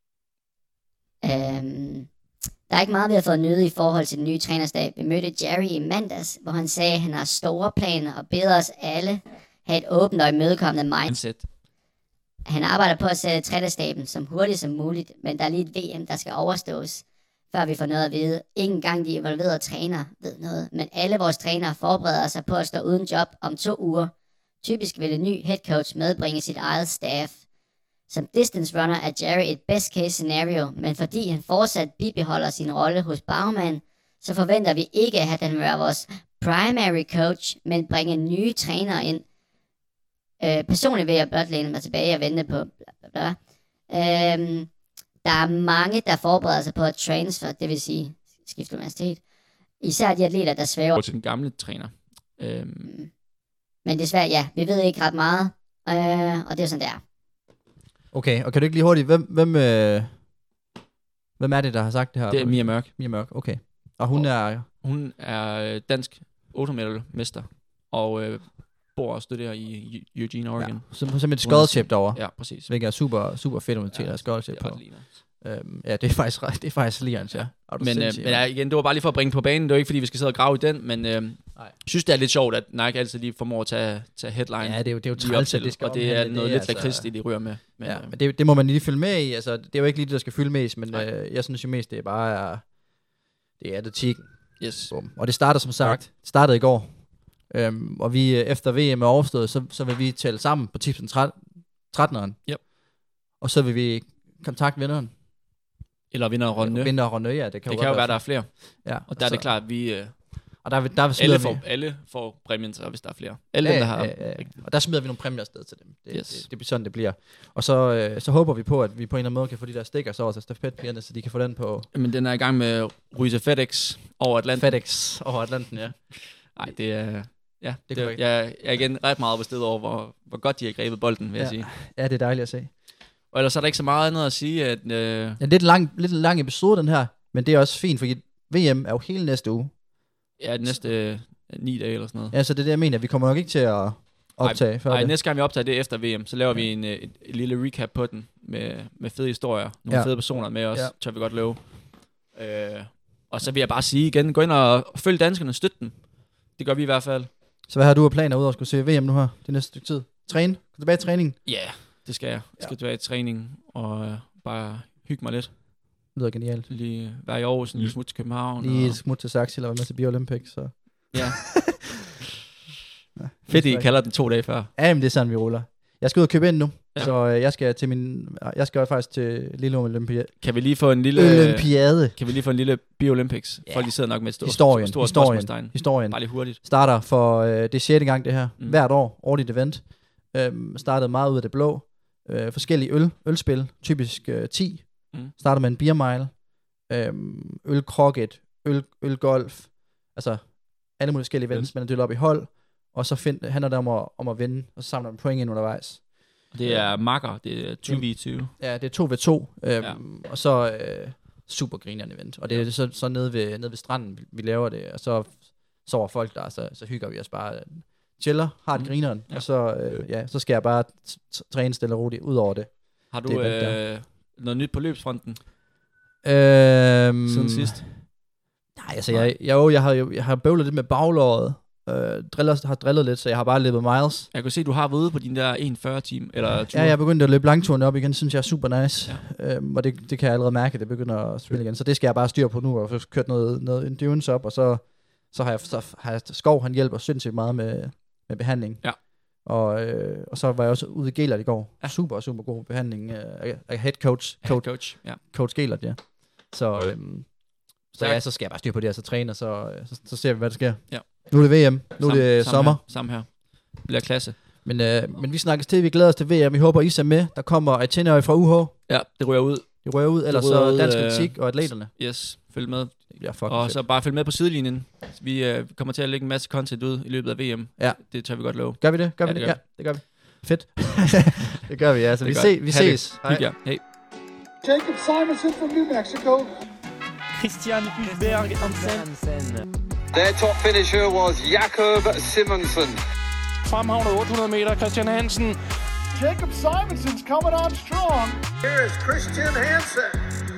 Der er ikke meget, vi har fået nyde i forhold til den nye trænerstab. Vi mødte Jerry i mandags, hvor han sagde, at han har store planer og beder os alle have et åbent og imødekommende mindset. Han arbejder på at sætte trænerstaben som hurtigt som muligt, men der er lige et VM, der skal overstås, før vi får noget at vide. Ingen gang de involverede trænere ved noget, men alle vores trænere forbereder sig på at stå uden job om 2 uger. Typisk vil en ny head coach medbringe sit eget staff. Som distance runner er Jerry et best case scenario, men fordi han fortsat bibeholder sin rolle hos Baumann, så forventer vi ikke, at han vil være vores primary coach, men bringe nye trænere ind. Personligt vil jeg blot læne mig tilbage og vente på bla bla bla. Der er mange, der forbereder sig på at transfer, det vil sige skifte universitet, især de atleter, der svæver. Til den gamle træner. Men desværre, ja, vi ved ikke ret meget, og det er sådan, det er. Okay, og kan du ikke lige hurtigt, hvem er det, der har sagt det her? Det er Mia Mørk. Mia Mørk, okay. Og hun er dansk 8-meter-mester, og bor og studerer i Eugene, Oregon. Ja, som et scholarship derovre. Ja, præcis. Hvilket er super, super fedt, at der er scholarship på. Ja, det er faktisk Lians, ja. Men igen, det var bare lige for at bringe på banen. Det var ikke, fordi vi skal sidde og grave i den, men synes, det er lidt sjovt, at Nike altid lige formår at tage headline. Ja, det er jo træls, at det skal og det er noget lidt lakrids, de rører med. Men, ja, men det må man lige følge med i. Altså, det er jo ikke lige det, der skal fylde mest, men jeg synes jo mest, det er bare det er atletikken. Yes. Og det starter som sagt. Det startede i går. Og vi efter VM er overstået, så vil vi tælle sammen på tipsen 13'eren. Yep. Og så vil vi kontakte vinderen. Eller vinderrunde, ja. Det kan jo være, der er flere. Ja, og der er det klart, at vi... og der alle får præmien, så hvis der er flere. Alle dem, der har... Og der smider vi nogle præmier afsted til dem. Det bliver sådan, det bliver. Og så håber vi på, at vi på en eller anden måde kan få de der stikker så også af stafetpigerne, så de kan få den på... Men den er i gang med at ryge til FedEx over Atlanten. FedEx over Atlanten, ja. Nej, det er... Ja, jeg er igen ret meget bestedet over, hvor godt de har grebet bolden, vil jeg sige. Ja, det er dejligt at se. Og ellers er der ikke så meget andet at sige, at... Ja, det er lidt en lang episode, den her, men det er også fint, fordi VM er jo hele næste uge. Ja, næste 9 dage eller sådan noget. Ja, så det er det, jeg mener. Vi kommer nok ikke til at optage før det. Nej, næste gang vi optager det efter VM, så laver vi et lille recap på den, med fede historier, nogle fede personer med os, tør vi godt love. Og så vil jeg bare sige igen, gå ind og følg danskerne, støt dem. Det gør vi i hvert fald. Så hvad har du af planer ud over at skulle se VM nu her, det næste stykke tid? Træne? Gå tilbage i træningen? Ja, det skal jeg. Jeg skal tilbage i træning og bare hygge mig lidt. Det lyder genialt. Lige være i Aarhus, lige smut til København. Lige smut til Saxi, eller være med til Bio-Olympics. Så. Ja. Fedt, I kalder den 2 dage før. Ja, men det er sådan, vi ruller. Jeg skal ud og købe ind nu, så jeg skal faktisk til lille Olympiade. Kan vi lige få en lille Bio-Olympics? Folk de sidder nok med et stort historien. Bare lige hurtigt. Starter for det er 6. gang det her. Hvert år, årligt event. Startede meget ud af det blå. Forskellige ølspil, typisk 10. Starter med en beer mile. Ølkrokket, ølgolf. Altså alle mulige forskellige events, man er delt op i hold. Og så handler det om at vinde, og så samler man point ind undervejs. Det er makker, det er 2v2. Ja, det er 2v2, og så super grinerende event. Og det er så nede ved stranden, vi laver det, og så sover folk der, så hygger vi os bare, chiller, har det grineren, og så skal jeg bare træne stille og roligt ud over det. Har du noget nyt på løbsfronten? Siden sidst? Nej, altså jeg har bøvlet lidt med baglåret. Har drillet lidt, så jeg har bare løbet miles. Jeg kan se, du har været ude på din der 1,40 time eller tur. Ja, jeg er begyndt at løbe langturen op igen, synes jeg er super nice. Ja. Og det kan jeg allerede mærke, at det begynder at spille igen. Så det skal jeg bare styre på nu, og få kørt noget endurance op, og så har jeg Skov, han hjælper sindssygt meget med behandling. Ja. Og så var jeg også ude i Gelert i går. Ja. Super god behandling af head coach. Coach Gelert, ja. Så skal jeg bare styre på det, og så træne, og så ser vi, hvad der sker. Ja. Nu er det VM, nu er det sommer. Samme her. Det bliver klasse. Men vi snakkes til, vi glæder os til VM. Vi håber, I er med. Der kommer et tenøje fra UH. Ja, det ryger ud. Ellers så dansk atletik og atleterne. Yes, følg med. Og så bare følg med på sidelinjen. Vi kommer til at lægge en masse content ud i løbet af VM. Ja. Det tør vi godt love. Gør vi det? Ja, det gør vi. Fedt. Det gør vi, ja. Så vi ses. Hej. Hej. Jacob Simonson from New Mexico. Christian Hulberg Hansen. Their top finisher was Jakob Simonsen. Fremhavnet 800 meter, Christian Hansen. Jacob Simonson's coming on strong. Here is Christian Hansen.